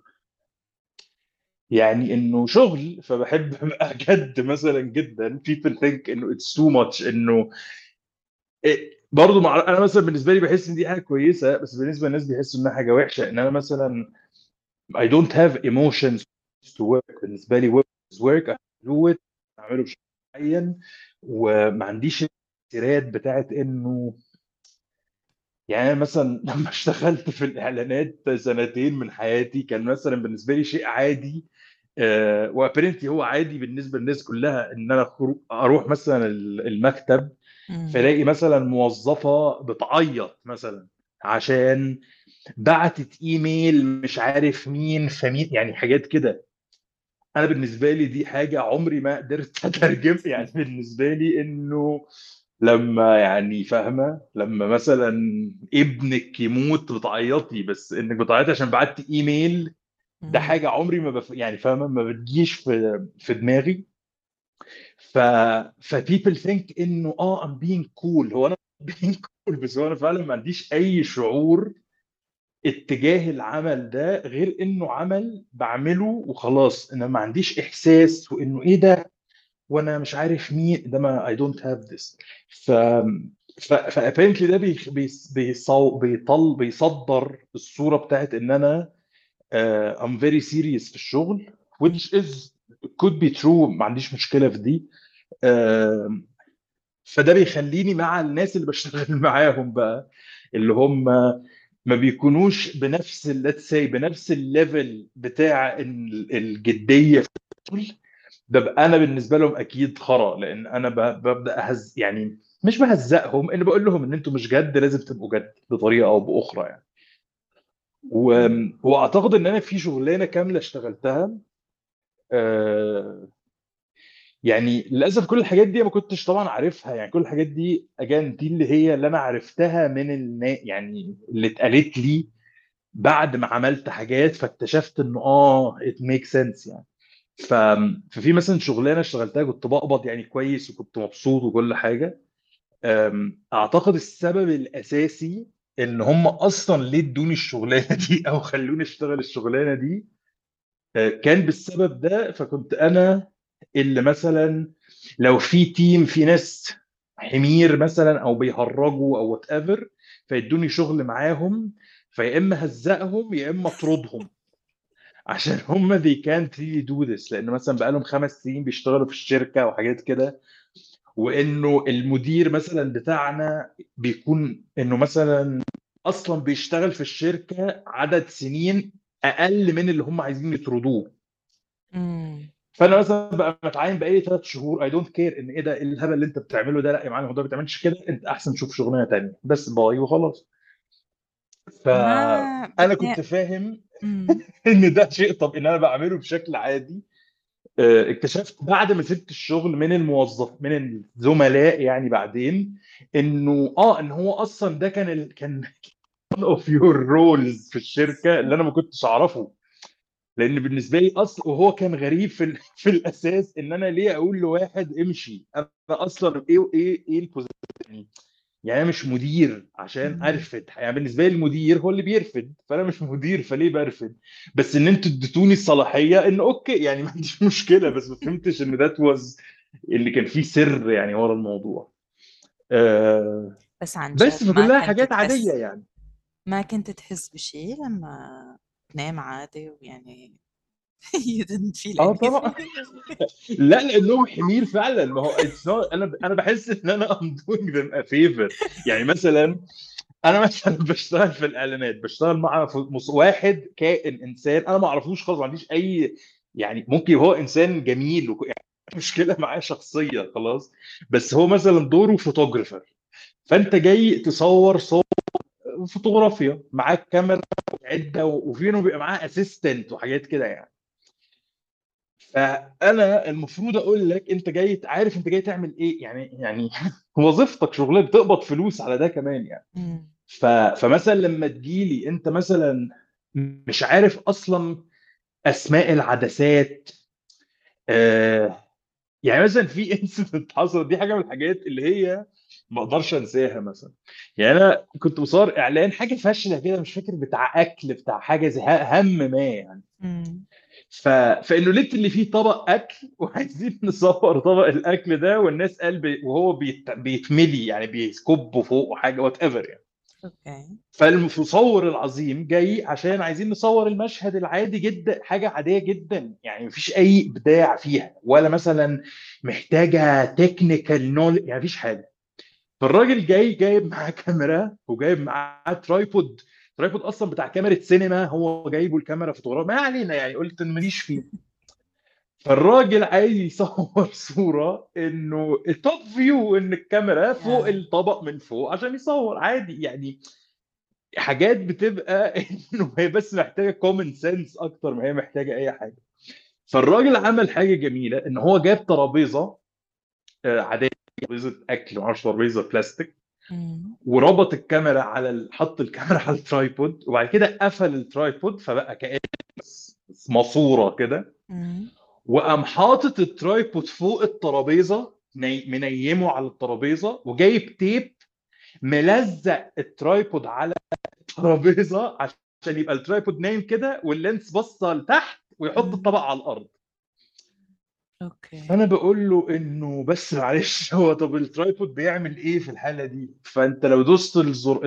Speaker 1: يعني انه شغل فبحب ابقى جد مثلا جدا. people think انه it's too much، انه برضه انا مثلا بالنسبه لي بحس ان دي حاجه كويسه، بس بالنسبه للناس بيحسوا انها حاجه وحشه. ان انا مثلا I don't have emotions to work. بالنسبه لي work is work. I do it، اعمله بشكل معين، وما عنديش التأثيرات بتاعت انه يعني. أنا مثلا لما اشتغلت في الاعلانات سنتين من حياتي، كان مثلا بالنسبه لي شيء عادي. وابرنتلي هو عادي بالنسبه للناس كلها، ان انا اروح مثلا المكتب،
Speaker 2: مم.
Speaker 1: فلاقي مثلا موظفه بتعيط مثلا عشان بعتت ايميل مش عارف مين فمين، يعني حاجات كده. انا بالنسبه لي دي حاجه عمري ما قدرت اترجم. يعني بالنسبه لي انه لما يعني فاهمه، لما مثلا ابنك يموت بتعيطي، بس انك بتعيطي عشان بعت ايميل، ده
Speaker 2: مم.
Speaker 1: حاجه عمري ما يعني فاهمه ما بتجيش في دماغي. ف people think انه I'm being cool. هو انا being cool، بس هو انا فعلا ما عنديش اي شعور اتجاه العمل ده غير انه عمل بعمله وخلاص. انا ما عنديش احساس وانه ايه ده وانا مش عارف مين ده. ما I don't have this. ف apparently ده بيصدر الصورة بتاعت ان انا I'm very serious في الشغل،
Speaker 2: مم.
Speaker 1: which is could be true. ما عنديش مشكلة في دي. آه، فده بيخليني مع الناس اللي بشتغل معاهم بقى، اللي هم ما بيكونوش بنفس let's say بنفس الليفل بتاع الجدية في الشغل. ببقى انا بالنسبه لهم اكيد خرا، لان انا ببدا يعني مش بهزقهم، ان بقول لهم ان انتوا مش جد، لازم تبقوا جد بطريقه او باخرى يعني. و... واعتقد ان انا في شغلانه كامله اشتغلتها. آه، يعني للاسف كل الحاجات دي ما كنتش طبعا عارفها. يعني كل الحاجات دي اجان دي اللي هي اللي انا عرفتها من يعني اللي اتقالت لي بعد ما عملت حاجات، فاكتشفت انه it makes sense يعني. ف... ففي مثلا شغلانه اشتغلتها كنت بقبض يعني كويس وكنت مبسوط وكل حاجه. اعتقد السبب الاساسي ان هم اصلا ليه ادوني الشغلانه دي او خلوني اشتغل الشغلانه دي. كان بالسبب ده. فكنت انا اللي مثلا لو في تيم في ناس حمير مثلا او بيهرجوا او وات ايفر، فيدوني شغل معاهم، فيا اما هزقهم يا اما اطردهم عشان هم they can't really do this، لان مثلا بقالهم 5 سنين بيشتغلوا في الشركه وحاجات كده. وانه المدير مثلا بتاعنا بيكون انه مثلا اصلا بيشتغل في الشركه عدد سنين اقل من اللي هم عايزين يطردوه.
Speaker 2: مم.
Speaker 1: فانا مثلا بقى متعين بقالي 3 شهور، اي دونت كير ان ايه ده، ايه الهبل اللي انت بتعمله ده، لا يا معلم هو ده ما بتعملش كده، انت احسن تشوف شغلانه تانيه بس باي وخلاص.
Speaker 2: ما
Speaker 1: فانا كنت
Speaker 2: بتنا...
Speaker 1: فاهم
Speaker 2: مم.
Speaker 1: ان ده شيء، طب ان انا بعمله بشكل عادي. اكتشفت بعد ما سبت الشغل من الموظف من الزملاء يعني بعدين، انه ان هو اصلا ده كان one of your roles في الشركه اللي انا ما كنتش اعرفه. لان بالنسبه لي اصلا وهو كان غريب في الاساس ان انا ليه اقول لواحد امشي، انا اصلا ايه البوزيشن. يعني انا مش مدير عشان
Speaker 2: مم.
Speaker 1: ارفد، يعني بالنسبه لي المدير هو اللي بيرفد، فانا مش مدير فليه برفد. بس ان انتوا اديتوني الصلاحيه ان اوكي يعني ما عنديش مشكله، بس ما فهمتش ان ذات واز اللي كان فيه سر يعني ورا الموضوع. آه
Speaker 2: بس عن جد
Speaker 1: بس
Speaker 2: ما
Speaker 1: فكلها
Speaker 2: كنت
Speaker 1: حاجات عاديه
Speaker 2: تحس
Speaker 1: يعني.
Speaker 2: ما كنت تحس بشيء لما تنام عادي ويعني you didn't feel
Speaker 1: اه طبعا.
Speaker 2: anything.
Speaker 1: لا لانهم حمير فعلا، ما هو انا بحس ان انا I'm doing them a favor. يعني مثلا انا مثلا بشتغل في الاعلانات، بشتغل مع واحد كائن انسان انا ما اعرفوش خالص، ما عنديش اي يعني، ممكن هو انسان جميل يعني مشكله معاه شخصيه خلاص، بس هو مثلا دوره فوتوغرافر. فانت جاي تصور صور فوتوغرافيا، معاك كاميرا وعده وفينه بيبقى معاه اسيستنت وحاجات كده يعني. فانا المفروض اقول لك انت جاي عارف انت جاي تعمل ايه يعني وظيفتك شغلك بتقبض فلوس على ده كمان يعني.
Speaker 2: مم.
Speaker 1: فمثلا لما تجيلي انت مثلا مش عارف اصلا اسماء العدسات. آه يعني مثلا في انسيدنت حصل، دي حاجه من الحاجات اللي هي ما اقدرش انساها مثلا. يعني انا كنت بصور اعلان حاجه فاشله كده، مش فاكر بتاع اكل بتاع حاجه زي هم ما يعني.
Speaker 2: مم.
Speaker 1: فانه لقيت اللي فيه طبق اكل وعايزين نصور طبق الاكل ده، والناس وهو بيتملي يعني بيكبوا فوق حاجه وات ايفر يعني.
Speaker 2: اوكي.
Speaker 1: فالمصور العظيم جاي عشان عايزين نصور المشهد العادي جدا، حاجه عاديه جدا يعني مفيش اي ابداع فيها ولا مثلا محتاجه تكنيكال نول، يعني مفيش حاجه. فالراجل جايب معاه كاميرا وجايب معاه ترايبود اصلا بتاع كاميرا سينما، هو جايبه الكاميرا فوتوغراف ما علينا يعني، قلت إن ماليش فيه. فالراجل عايز يصور صورة انه التوب فيو، ان الكاميرا فوق
Speaker 2: يا
Speaker 1: الطبق من فوق عشان يصور عادي يعني. حاجات بتبقى انه هي بس محتاجة كومن سنس اكتر ما هي محتاجة اي حاجة. فالراجل عمل حاجة جميلة ان هو جاب ترابيزة عادية، ترابيزة اكل معرفش، ترابيزة بلاستيك،
Speaker 2: مم.
Speaker 1: وربط الكاميرا على حط الكاميرا على الترايبود، وبعد كده قفل الترايبود فبقى كأنه ماسورة كده.
Speaker 2: مم.
Speaker 1: وقام حاطط الترايبود فوق الترابيزه، منيمه على الترابيزه، وجايب تيب ملزق الترايبود على الترابيزه عشان يبقى الترايبود نايم كده واللينس باصه لتحت، ويحط
Speaker 2: مم.
Speaker 1: الطبق على الارض.
Speaker 2: اوكي.
Speaker 1: فانا بقول له انه بس معلش هو طب الترايبود بيعمل ايه في الحاله دي؟ فانت لو دوست الزر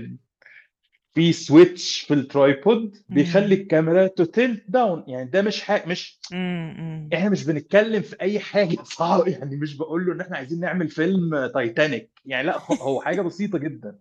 Speaker 1: في سويتش في الترايبود بيخلي
Speaker 2: مم.
Speaker 1: الكاميرا تو تيلت داون، يعني ده مش
Speaker 2: مم.
Speaker 1: احنا مش بنتكلم في اي حاجه صعبه يعني، مش بقول له ان احنا عايزين نعمل فيلم تايتانيك يعني، لا هو حاجه بسيطه جدا.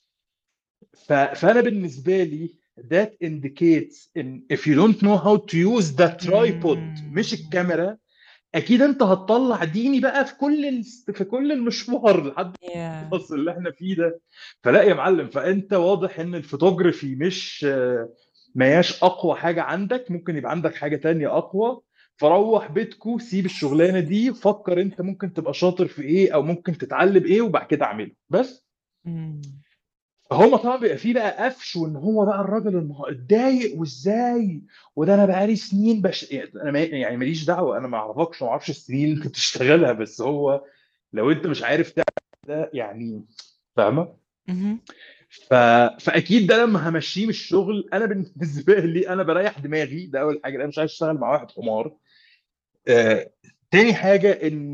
Speaker 1: فانا بالنسبه لي that indicates in if you don't know how to use the tripod
Speaker 2: مم.
Speaker 1: مش الكاميرا، اكيد انت هتطلع ديني بقى في كل المشوار لحد
Speaker 2: يا
Speaker 1: الخلاص اللي احنا فيه ده. فلا يا معلم، فانت واضح ان الفوتوغرافي مش ما هياش اقوى حاجه عندك، ممكن يبقى عندك حاجه تانية اقوى. فروح بيتكو سيب الشغلانه دي، فكر انت ممكن تبقى شاطر في ايه او ممكن تتعلم ايه وبعد كده اعمله بس.
Speaker 2: مم.
Speaker 1: هو طبعا بيبقى فيه بقى قفش، وان هو بقى الراجل اتضايق وازاي، وده انا بقالي سنين يعني انا يعني ماليش دعوه، انا ما اعرفكش وما اعرفش السنين اللي كنت تشتغلها، بس هو لو انت مش عارف تعمل ده يعني، فاهمه؟
Speaker 2: مهم.
Speaker 1: ف... فاكيد ده لما همشيه من الشغل، انا بالنسبه لي انا بريح دماغي، ده اول حاجه، انا مش عايز اشتغل مع واحد حمار. تاني حاجه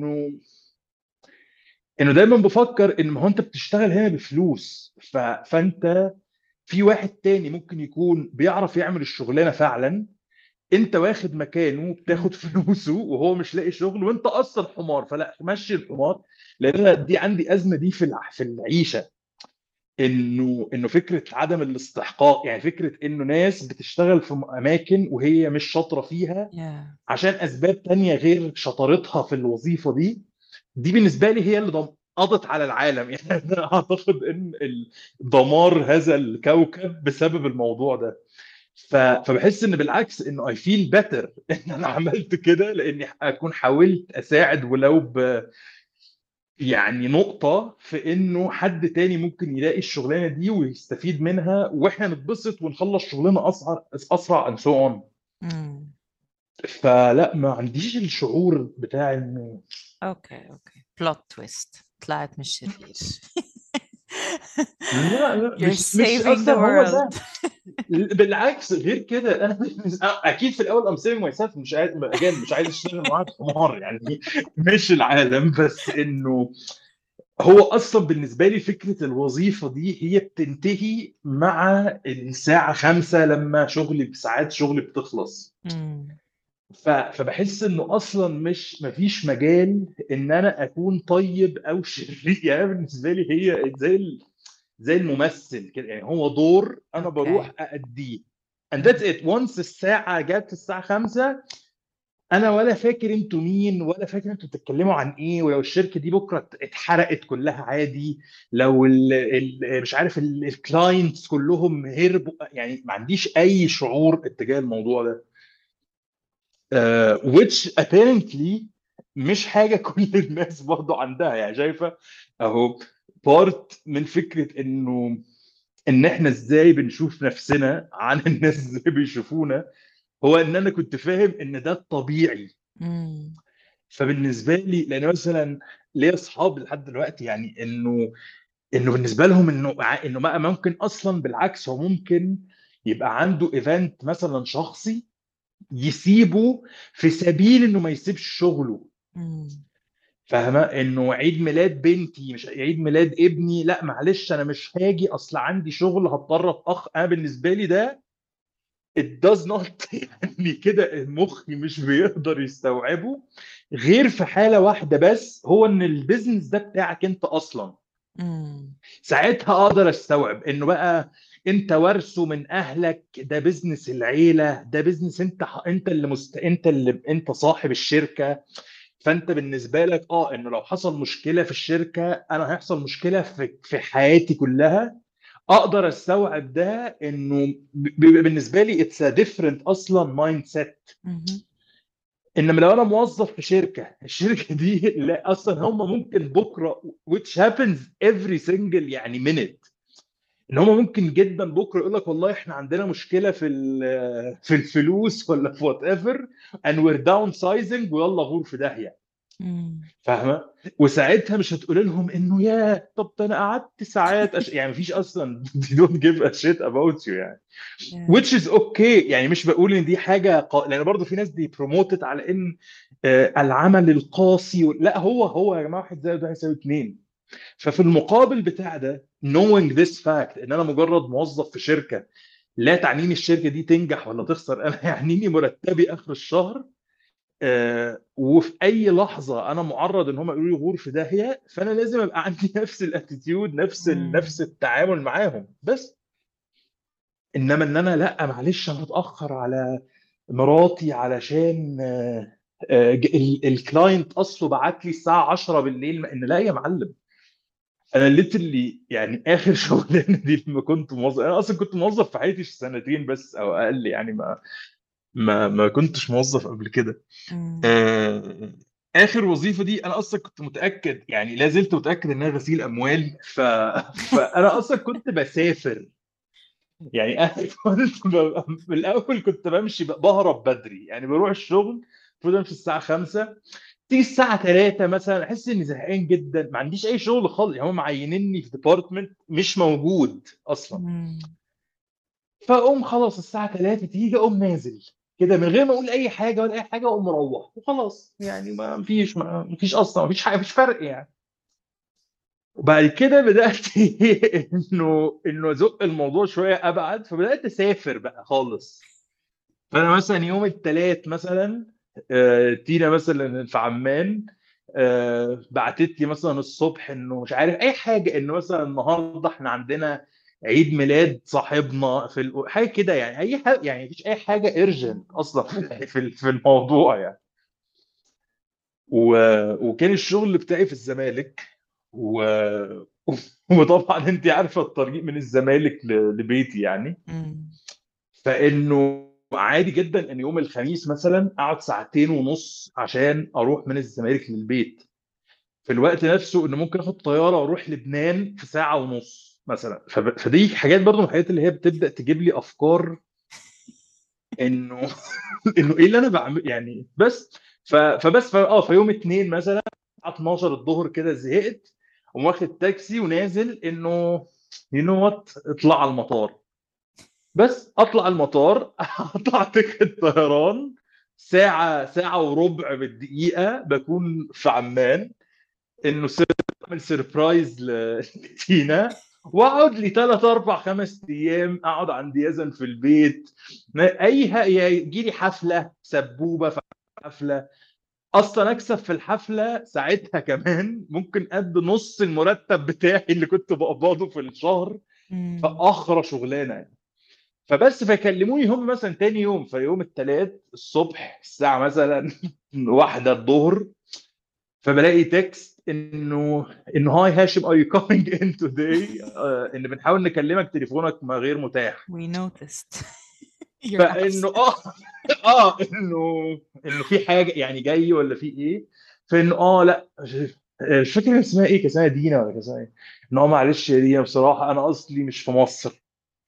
Speaker 1: انه دايما بفكر ان ما هو انت بتشتغل هنا بفلوس، فانت في واحد تاني ممكن يكون بيعرف يعمل الشغلانه فعلا، انت واخد مكانه بتاخد فلوسه وهو مش لاقي شغل، وانت اصلا حمار، فلا مشي الحمار. لان أنا دي عندي ازمه دي في العيشه، انه فكره عدم الاستحقاق، يعني فكره انه ناس بتشتغل في اماكن وهي مش شاطره فيها
Speaker 2: yeah.
Speaker 1: عشان اسباب تانية غير شطارتها في الوظيفه دي. دي بالنسبه لي هي اللي قضت على العالم. يعني انا اعتقد ان دمار هذا الكوكب بسبب الموضوع ده. فبحس ان بالعكس انه اي فيل بيتر ان انا عملت كده، لاني اكون حاولت اساعد ولو يعني نقطة في انه حد تاني ممكن يلاقي الشغلانة دي ويستفيد منها، واحنا نتبسط ونخلص شغلنا اسرع and so on.
Speaker 2: مم.
Speaker 1: فلا ما عنديش الشعور بتاع انه
Speaker 2: اوكي بلوت تويست، طلعت مش شرير.
Speaker 1: لا
Speaker 2: You're
Speaker 1: مش
Speaker 2: saving the
Speaker 1: اصلا هو
Speaker 2: world.
Speaker 1: ده. بالعكس غير كده، انا اكيد في الاول ام سيفنج ماي سيلف، مش عايز اشتغل معاك حمار يعني، مش العالم، بس انه هو اصلا بالنسبه لي فكره الوظيفه دي هي بتنتهي مع الساعه 5 لما شغلي بساعات شغلي بتخلص.
Speaker 2: مم.
Speaker 1: فبحس انه اصلا مش مفيش مجال ان انا اكون طيب او شرير. يعني بالنسبه لي هي زي الممثل كده، يعني هو دور انا
Speaker 2: اوكي.
Speaker 1: بروح أأديه and that's it. once الساعه جت الساعه 5، انا ولا فاكر انتوا مين، ولا فاكر انتوا بتتكلموا عن ايه، ولو الشركه دي بكره اتحرقت كلها عادي، لو مش عارف الكلاينتس كلهم هربوا، يعني ما عنديش اي شعور اتجاه الموضوع ده. which apparently مش حاجه كل الناس برضو عندها، يعني شايفه اهو بارت من فكره ان احنا ازاي بنشوف نفسنا عن الناس ازاي بيشوفونا، هو ان انا كنت فاهم ان ده الطبيعي.
Speaker 2: مم.
Speaker 1: فبالنسبه لي، لان مثلا ليا اصحاب لحد دلوقتي، يعني انه بالنسبه لهم انه بقى ممكن اصلا بالعكس، هو ممكن يبقى عنده ايفنت مثلا شخصي يسيبه في سبيل انه ما يسيبش شغله.
Speaker 2: مم.
Speaker 1: فاهمه؟ انه عيد ميلاد بنتي مش عيد ميلاد ابني، لا معلش انا مش هاجي اصل عندي شغل هضطر انا بالنسبه لي ده it does not يعني كده مخي مش بيقدر يستوعبه، غير في حالة واحدة بس، هو ان البيزنس ده بتاعك انت اصلا.
Speaker 2: مم.
Speaker 1: ساعتها اقدر استوعب انه بقى انت ورثه من اهلك، ده بيزنس العيلة، ده بيزنس انت صاحب الشركة. فانت بالنسبة لك انه لو حصل مشكلة في الشركة، انا هيحصل مشكلة في حياتي كلها. اقدر استوعب ده، انه بيبقى بالنسبه لي اتس ا ديفرنت اصلا مايند سيت.
Speaker 2: مهم.
Speaker 1: انما لو انا موظف في شركه، الشركه دي لا اصلا هم ممكن بكره which happens every single يعني minute، ان هم ممكن جدا بكره يقول لك والله احنا عندنا مشكله في الفلوس ولا في وات ايفر and we're downsizing ويلا غور في داهيه.
Speaker 2: مم.
Speaker 1: فاهمه؟ وساعتها مش هتقول لهم انه يا طب ده انا قعدت ساعات يعني مفيش اصلا they don't give a shit about you يعني.
Speaker 2: Yeah.
Speaker 1: which is okay، يعني مش بقول ان دي حاجه لان برضو في ناس دي بروموتد على ان العمل القاسي لا، هو يا جماعه واحد زائد واحد يساوي اتنين. ففي المقابل بتاع ده knowing this fact ان انا مجرد موظف في شركه لا تعنيني الشركه دي تنجح ولا تخسر، انا يعنيني مرتبي اخر الشهر. وفي اي لحظه انا معرض ان هم يقولوا لي غور في داهيه، فانا لازم ابقى عندي نفس الاتيتيود، نفس
Speaker 2: مم.
Speaker 1: التعامل معاهم بس. انما ان انا لا معلش انا هتاخر على مراتي علشان الكلاينت اصله بعت لي الساعه 10 بالليل، ان لا يا معلم. انا اللي يعني اخر شغلانه دي لما كنت موظف، انا اصلا كنت موظف في حياتي سنتين بس او اقل، يعني ما كنتش موظف قبل كده.
Speaker 2: مم.
Speaker 1: آه، اخر وظيفه دي انا اصلا كنت متاكد، يعني لا زلت متاكد انها غسيل اموال. فانا اصلا كنت بسافر، يعني انا كنت في الاول كنت بمشي بهرب بدري، يعني بروح الشغل المفروض امشي الساعه 5، تيجي الساعه 3 مثلا احس اني زهقان جدا، ما عنديش اي شغل خالص، يعني هم معينيني في ديبارتمنت مش موجود اصلا.
Speaker 2: مم.
Speaker 1: فاقوم خلاص الساعه 3 تيجي اقوم نازل كده من غير ما اقول اي حاجه ولا اي حاجه، اقوم مروح وخلاص، يعني ما فيش اصلا، ما فيش حاجه، مفيش فرق يعني. وبعد كده بدات انه ازق الموضوع شويه ابعد، فبدات اسافر بقى خالص. فانا مثلا يوم الثلاث مثلا تينا مثلا في عمان بعتت لي مثلا الصبح انه مش عارف اي حاجه، انه مثلا النهارده احنا عندنا عيد ميلاد صاحبنا حاجه كده، يعني اي حاجه، يعني مفيش اي حاجه ايرجنت اصلا في الموضوع يعني. و... وكان الشغل بتاعي في الزمالك. و... وطبعا انت عارفه الطريق من الزمالك لبيتي يعني.
Speaker 2: مم.
Speaker 1: فانه عادي جدا ان يوم الخميس مثلا اقعد ساعتين ونص عشان اروح من الزمالك للبيت، في الوقت نفسه انه ممكن اخد طياره واروح لبنان في ساعه ونص مثلا. فدي حاجات برضو من الحاجات اللي هي بتبدا تجيب لي افكار انه انه ايه اللي انا بعمل يعني. بس في يوم اتنين مثلا الساعه 12 الظهر كده زهقت، وقوم واخد تاكسي ونازل انه يو نو وات اطلع على المطار. بس اطلع المطار اطلع تيكت طيران، ساعة وربع بالدقيقة بكون في عمان، انه اعمل سربرايز لتينا، واقعد لي 3 4 5 ايام اقعد عند يزن في البيت. يجي لي حفلة سبوبة في حفلة، اصلا اكسب في الحفلة ساعتها كمان ممكن قد نص المرتب بتاعي اللي كنت بقبضه في الشهر.
Speaker 2: مم.
Speaker 1: فاخرى شغلانة يعني. فبس فيكلموني هم مثلا تاني يوم، في يوم الثلاث الصبح الساعة مثلا 1 الظهر، فبلاقي تكست انه هاي هاشم ار يو كومينج ان توداي، ان بنحاول نكلمك تليفونك ما غير متاح.
Speaker 2: We noticed your
Speaker 1: فانه
Speaker 2: absence.
Speaker 1: انه في حاجة يعني جاي ولا في ايه. فانه لا مش فاكر كان اسمها ايه، كان اسمها دينا ولا كان اسمها ايه. انه معلش يا دينا بصراحة انا اصلي مش في مصر.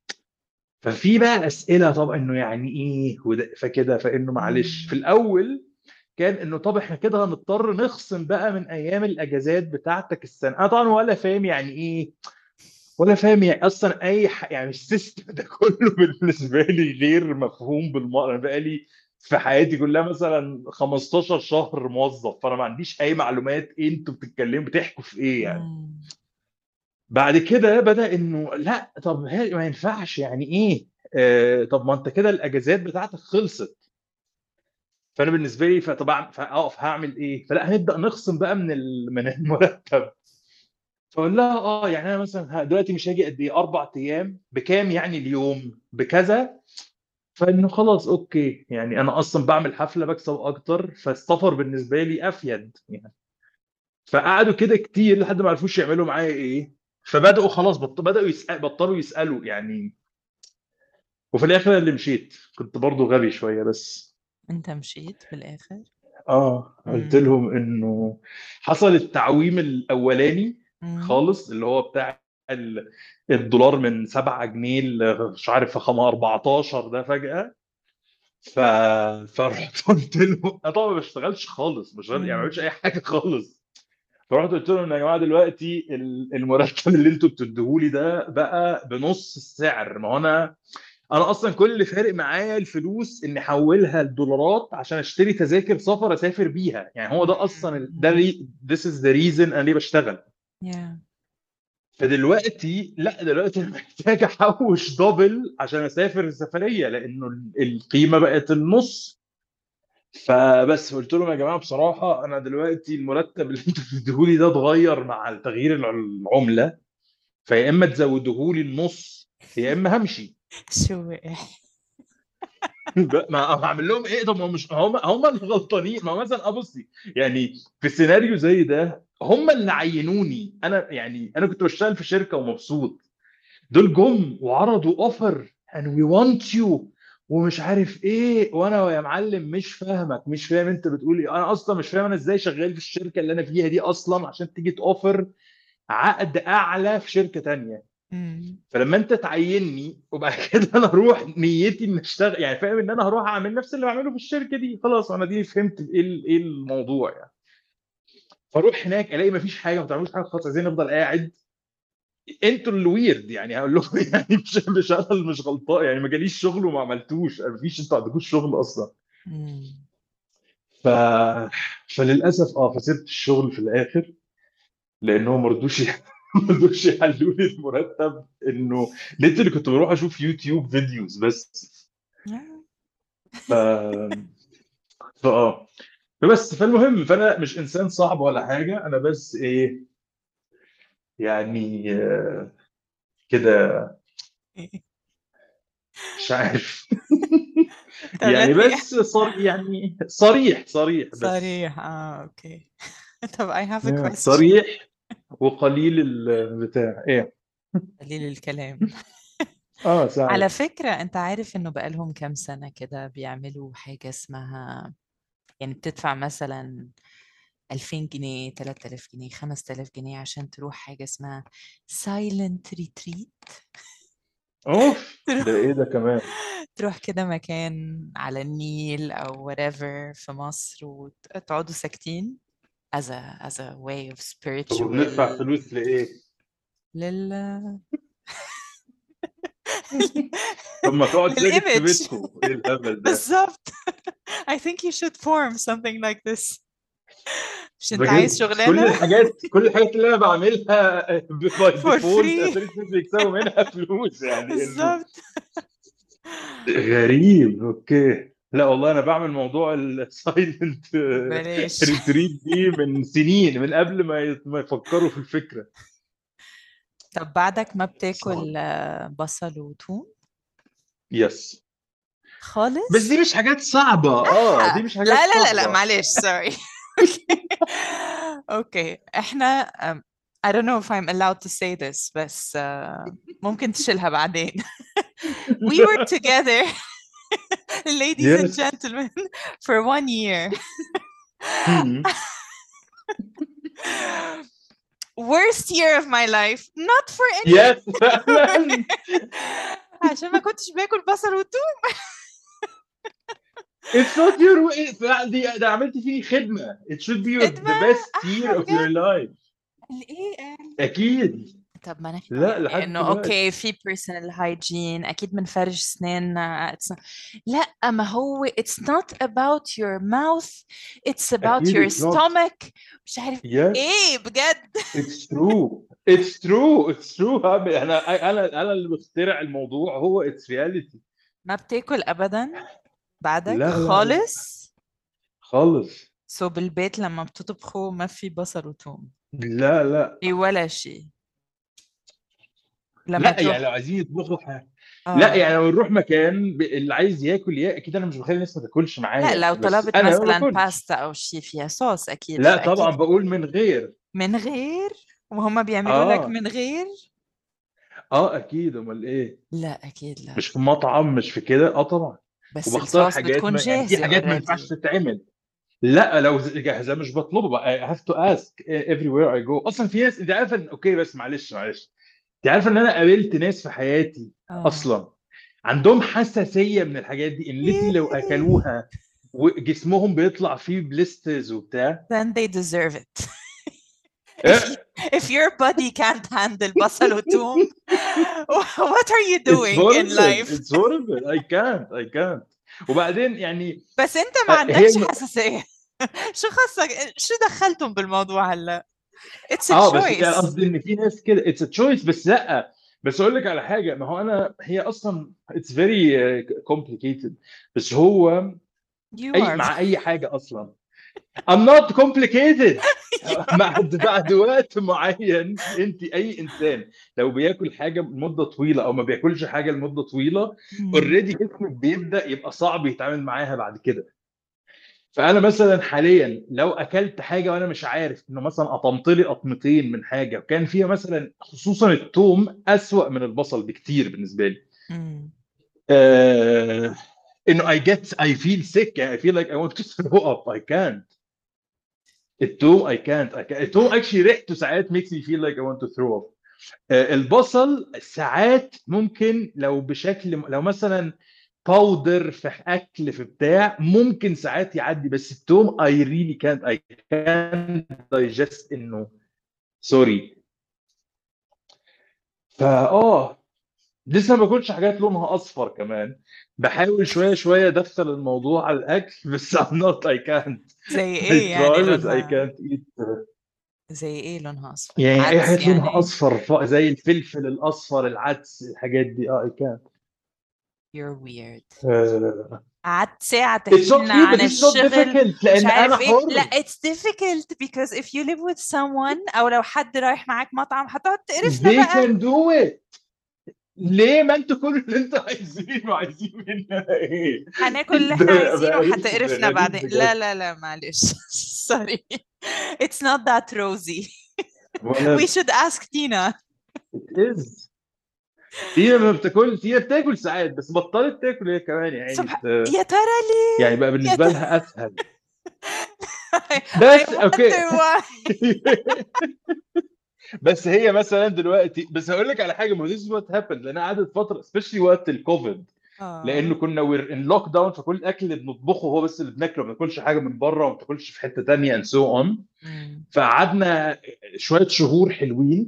Speaker 1: ففي بقى اسئله، طب انه يعني ايه فكده، فانه معلش في
Speaker 2: مم.
Speaker 1: الاول كان انه طب احنا كده هنضطر نخصم بقى من ايام الاجازات بتاعتك السنه. انا طبعا ولا فاهم يعني ايه، ولا فاهم يعني اصلا يعني السيستم ده كله بالنسبه لي غير مفهوم بالمره. انا بقى لي في حياتي كلها مثلا 15 شهر موظف، فانا ما عنديش اي معلومات ايه انتوا بتتكلموا بتحكوا في ايه يعني.
Speaker 2: مم.
Speaker 1: بعد كده بدأ انه لا طب ما ينفعش يعني ايه. طب ما انت كده الاجازات بتاعتك خلصت. فانا بالنسبه لي فطبعا فاقف هعمل ايه، فلا هنبدا نخصم بقى من المرتب. فاقول لها يعني انا مثلا دلوقتي مش هاجي قد ايه 4 ايام بكام، يعني اليوم بكذا. فانه خلاص اوكي، يعني انا اصلا بعمل حفله بكسب اكتر، فالسفر بالنسبه لي افيد يعني. فقعدوا كده كتير لحد ما عرفوش يعملوا معايا ايه. فبداوا خلاص بداوا بطلوا يسالوا يعني. وفي الاخر اللي مشيت كنت برضو غبي شويه بس.
Speaker 2: انت مشيت في الاخر.
Speaker 1: قلت
Speaker 2: مم.
Speaker 1: لهم انه حصل التعويم الاولاني
Speaker 2: مم.
Speaker 1: خالص، اللي هو بتاع الدولار من 7 جنيه مش عارف 14 ده فجأة. ف... فرحت قلت له انا طبعا ما بشتغلش خالص، مش يعني ما بعملش
Speaker 2: مم.
Speaker 1: اي حاجه خالص. فرحت قلت لهم يا جماعه دلوقتي المرتب اللي انتوا بتديهولي ده بقى بنص السعر. ما هو انا اصلا كل اللي فارق معايا الفلوس اني احولها لدولارات عشان اشتري تذاكر سفر اسافر بيها، يعني هو ده اصلا
Speaker 2: مم.
Speaker 1: this is the reason انا ليه بشتغل.
Speaker 2: Yeah.
Speaker 1: فدلوقتي لا، دلوقتي انا محتاج احوش دبل عشان اسافر السفريه، لانه القيمه بقت النص. فبس قلت لهم يا جماعه بصراحه انا دلوقتي المرتب اللي انتوا بتديهولي ده اتغير مع تغيير العمله، فيا اما تزودوهولي النص يا اما همشي.
Speaker 2: شو
Speaker 1: ما هعمل لهم ايه؟ طب ما مش هم اللي غلطانين. ما هو مثلا بصي، يعني في السيناريو زي ده هم اللي عينوني انا، يعني انا كنت بشتغل في شركه ومبسوط، دول جم وعرضوا اوفر and we want you ومش عارف ايه، وانا يا معلم مش فاهمك، مش فاهم انت بتقول ايه. انا اصلا مش فاهم انا ازاي شغال في الشركه اللي انا فيها دي اصلا عشان تيجي توفر عقد اعلى في شركه تانية.
Speaker 2: مم.
Speaker 1: فلما انت تعيني وبعد كده انا اروح نيتي ان اشتغل، يعني فاهم ان انا هروح اعمل نفس اللي بعمله في الشركه دي، خلاص انا دي فهمت ايه ايه الموضوع يعني. فاروح هناك الاقي مفيش حاجه، ما بتعملوش حاجه خالص، عايزين نفضل قاعد. انتوا اللي ويرد يعني، هقول لكم يعني مش انا اللي مش غلطان يعني، ما جاليش شغل وما عملتوش، مفيش، انتوا عندكوش شغل اصلا.
Speaker 2: مم.
Speaker 1: ف فللاسف فسبت الشغل في الاخر، لانهم ما رضوش ما رضوش يحلوا لي المرتب. انه لقيت اللي كنت بروح اشوف يوتيوب فيديوز بس. ف فاه فبس فالمهم، فانا مش انسان صعب ولا حاجه، انا بس ايه يعني كده، مش عارف. يعني
Speaker 2: تغري.
Speaker 1: بس يعني صريح بس.
Speaker 2: صريح، اوكي. طب I have a question.
Speaker 1: صريح وقليل البتاع ايه.
Speaker 2: قليل الكلام. على
Speaker 1: ساعات.
Speaker 2: فكرة انت عارف انه بقالهم كام سنة كده بيعملوا حاجة اسمها، يعني بتدفع مثلا 2000 جنيه، 3000 جنيه، 5000 جنيه عشان تروح حاجة اسمها silent retreat.
Speaker 1: اوف، ده
Speaker 2: تروح
Speaker 1: ايه ده كمان؟
Speaker 2: تروح كده مكان على النيل أو whatever في مصر وتقعدوا ساكتين as a way of
Speaker 1: طب
Speaker 2: spiritual
Speaker 1: وبندفع فلوس لايه؟
Speaker 2: لل
Speaker 1: طب ما تقعد ساكت في
Speaker 2: للإيمج.
Speaker 1: بيتكم، ايه الهبل ده؟
Speaker 2: بالظبط. I think you should form something like this. مش انت عايز
Speaker 1: بجد كل
Speaker 2: شغلانة
Speaker 1: الحاجات كل الحاجات اللي انا بعملها باي
Speaker 2: for
Speaker 1: ديفولت
Speaker 2: free.
Speaker 1: عشان الناس بيكسبوا منها فلوس، يعني انه
Speaker 2: بالظبط.
Speaker 1: غريب. اوكي، لا والله انا بعمل موضوع السايلنت
Speaker 2: بلاش.
Speaker 1: ريتريت دي من سنين، من قبل ما يفكروا في الفكره.
Speaker 2: طب بعدك ما
Speaker 1: صعب.
Speaker 2: بتاكل بصل وثوم
Speaker 1: يس. بس دي
Speaker 2: خالص؟
Speaker 1: مش حاجات صعبه، دي مش حاجات
Speaker 2: لا لا لا لا،
Speaker 1: صعبه.
Speaker 2: معلش، سوري. اوكي احنا I don't know if I'm allowed to say this بس ممكن تشيلها بعدين. We were together, ladies and
Speaker 1: يس.
Speaker 2: gentlemen, for 1 year. Worst year of my life, not for any
Speaker 1: يس فعلا.
Speaker 2: عشان ما كنتش باكل بصل وثوم.
Speaker 1: It's not your way. ده عملت فيه خدمة. It should be
Speaker 2: خدمة
Speaker 1: the best year
Speaker 2: أحا
Speaker 1: of your
Speaker 2: بجد.
Speaker 1: life.
Speaker 2: الايه؟
Speaker 1: أكيد.
Speaker 2: طب ما نحن
Speaker 1: لا
Speaker 2: يعني
Speaker 1: لحد
Speaker 2: انه
Speaker 1: دلوقتي.
Speaker 2: اوكي في personal hygiene اكيد بنفرش اسناننا لا ما هو it's not about your mouth, it's about
Speaker 1: أكيد
Speaker 2: your
Speaker 1: it's not.
Speaker 2: stomach. مش عارف
Speaker 1: Yes.
Speaker 2: ايه بجد.
Speaker 1: It's true. It's true. It's true. أنا اللي بخترع الموضوع، هو it's reality.
Speaker 2: ما بتاكل ابدا بعدك
Speaker 1: لا لا لا
Speaker 2: خالص؟
Speaker 1: خالص.
Speaker 2: سو بالبيت لما بتطبخوا ما في بصل وثوم؟
Speaker 1: لا لا
Speaker 2: في ولا شيء لما
Speaker 1: لا يعني
Speaker 2: تروح؟
Speaker 1: لو عايزين يطبخوا حاجة. لا
Speaker 2: اه
Speaker 1: يعني لو نروح مكان اللي عايز ياكل اكيد انا مش بخلي الناس ما تاكلش
Speaker 2: لا
Speaker 1: معايا،
Speaker 2: لو
Speaker 1: بس
Speaker 2: طلبت
Speaker 1: انا ما
Speaker 2: مثلا
Speaker 1: باكلش.
Speaker 2: باستا او شيء فيها صوص اكيد
Speaker 1: لا طبعا
Speaker 2: فاكيد
Speaker 1: بقول من غير.
Speaker 2: من غير. وهم بيعملوا لك
Speaker 1: اه
Speaker 2: من غير؟
Speaker 1: اكيد، امال ايه.
Speaker 2: لا اكيد لا.
Speaker 1: مش في مطعم، مش في كده، طبعا.
Speaker 2: بس
Speaker 1: وبختار
Speaker 2: الصوص
Speaker 1: حاجات،
Speaker 2: بتكون
Speaker 1: ما يعني في
Speaker 2: جاهزة
Speaker 1: حاجات ما ينفعش
Speaker 2: already.
Speaker 1: تتعمل. لا لو جاهزه مش بطلبها بقى. I have to ask everywhere I go. اصلا في ناس، انت عارفه اوكي بس معلش، انت عارفه ان انا قابلت ناس في حياتي
Speaker 2: اه
Speaker 1: اصلا عندهم حساسيه من الحاجات دي، ان ليتل لو
Speaker 2: ياي.
Speaker 1: اكلوها وجسمهم بيطلع فيه بليسترز وبتاع.
Speaker 2: then they deserve it. if you,
Speaker 1: إيه؟
Speaker 2: if your body can't handle بصل وثوم, what are you
Speaker 1: It's
Speaker 2: doing in
Speaker 1: horrible.
Speaker 2: life?
Speaker 1: It's horrible. I can't. وبعدين يعني
Speaker 2: بس انت ما
Speaker 1: هي
Speaker 2: عندكش حساسية. شو خصك، شو دخلتم بالموضوع هلا؟ it's a
Speaker 1: بس يعني
Speaker 2: choice.
Speaker 1: قصدي ان في ناس كده اتس تشويس، بس لا. بس اقول لك على حاجه، ما هو هي اصلا اتس فيري كومبليكيتد. بس هو
Speaker 2: you
Speaker 1: اي
Speaker 2: are.
Speaker 1: مع اي حاجه اصلا. I'm not complicated. بعد وقت معين، انت اي انسان لو بياكل حاجه لمده طويله او ما بياكلش حاجه لمده طويله،
Speaker 2: مم.
Speaker 1: اوريدي جسمك بيبدا يبقى صعب يتعامل معاها بعد كده. فانا مثلا حاليا لو اكلت حاجه وانا مش عارف، انه مثلا قطمت لي قطمتين من حاجه وكان فيها مثلا، خصوصا الثوم اسوأ من البصل بكتير بالنسبه لي.
Speaker 2: مم.
Speaker 1: آه انه I feel sick يعني I feel like I want to throw up. I can't. الثوم الثوم actually ريحته ساعات makes me feel like I want to throw up. البصل ساعات ممكن لو بشكل، لو مثلا باودر في اكل في بتاع ممكن ساعات يعدي، بس التوم I really can't digest انه سوري. لسه ما باكلش حاجات لونها اصفر كمان، بحاول شويه شويه ادخل الموضوع على الاكل بس I'm not I can't
Speaker 2: زي
Speaker 1: I
Speaker 2: ايه يعني
Speaker 1: try but I
Speaker 2: لونها؟
Speaker 1: can't eat.
Speaker 2: زي ايه لونها اصفر؟
Speaker 1: يعني اي
Speaker 2: عدس
Speaker 1: حاجات لونها
Speaker 2: يعني؟
Speaker 1: اصفر زي الفلفل الاصفر، العدس، الحاجات دي I can't.
Speaker 2: You're weird.
Speaker 1: Uh,
Speaker 2: قعدت ساعة
Speaker 1: it's
Speaker 2: تحكي لنا
Speaker 1: okay but
Speaker 2: عن
Speaker 1: it's not
Speaker 2: الشغل
Speaker 1: difficult
Speaker 2: مش
Speaker 1: لان انا
Speaker 2: عارف ايه. لا
Speaker 1: حر.
Speaker 2: it's difficult because if you live with someone او لو حد رايح معاك مطعم هتقعد تقرفنا
Speaker 1: they
Speaker 2: بقى.
Speaker 1: can do it. ليه؟ ما انتوا كل اللي انتوا عايزينه عايزين مننا ايه؟
Speaker 2: هناكل اللي احنا
Speaker 1: ده
Speaker 2: عايزينه
Speaker 1: بقرف
Speaker 2: وهتقرفنا
Speaker 1: غريب
Speaker 2: بعدين. لا
Speaker 1: بجد.
Speaker 2: لا لا معلش sorry it's not that rosy
Speaker 1: ولا
Speaker 2: we should ask Tina.
Speaker 1: it is. تينا ما بتاكل، تينا بتاكل ساعات بس بطلت تاكل هي كمان يعني
Speaker 2: يا ترى ليه؟
Speaker 1: يعني بقى
Speaker 2: يا
Speaker 1: بالنسبه
Speaker 2: ترى
Speaker 1: لها اسهل.
Speaker 2: I
Speaker 1: بس
Speaker 2: wonder
Speaker 1: اوكي
Speaker 2: why.
Speaker 1: بس هي مثلا دلوقتي، بس هقول لك على حاجه، ما this is what happened لان قعدت فتره especially وقت الكوفيد، لانه كنا وير ان لوك داون، فكل الاكل اللي بنطبخه هو بس اللي بناكله، ما بناكلش حاجه من بره وما بتاكلش في حته ثانيه and so on. فقعدنا شويه شهور حلوين.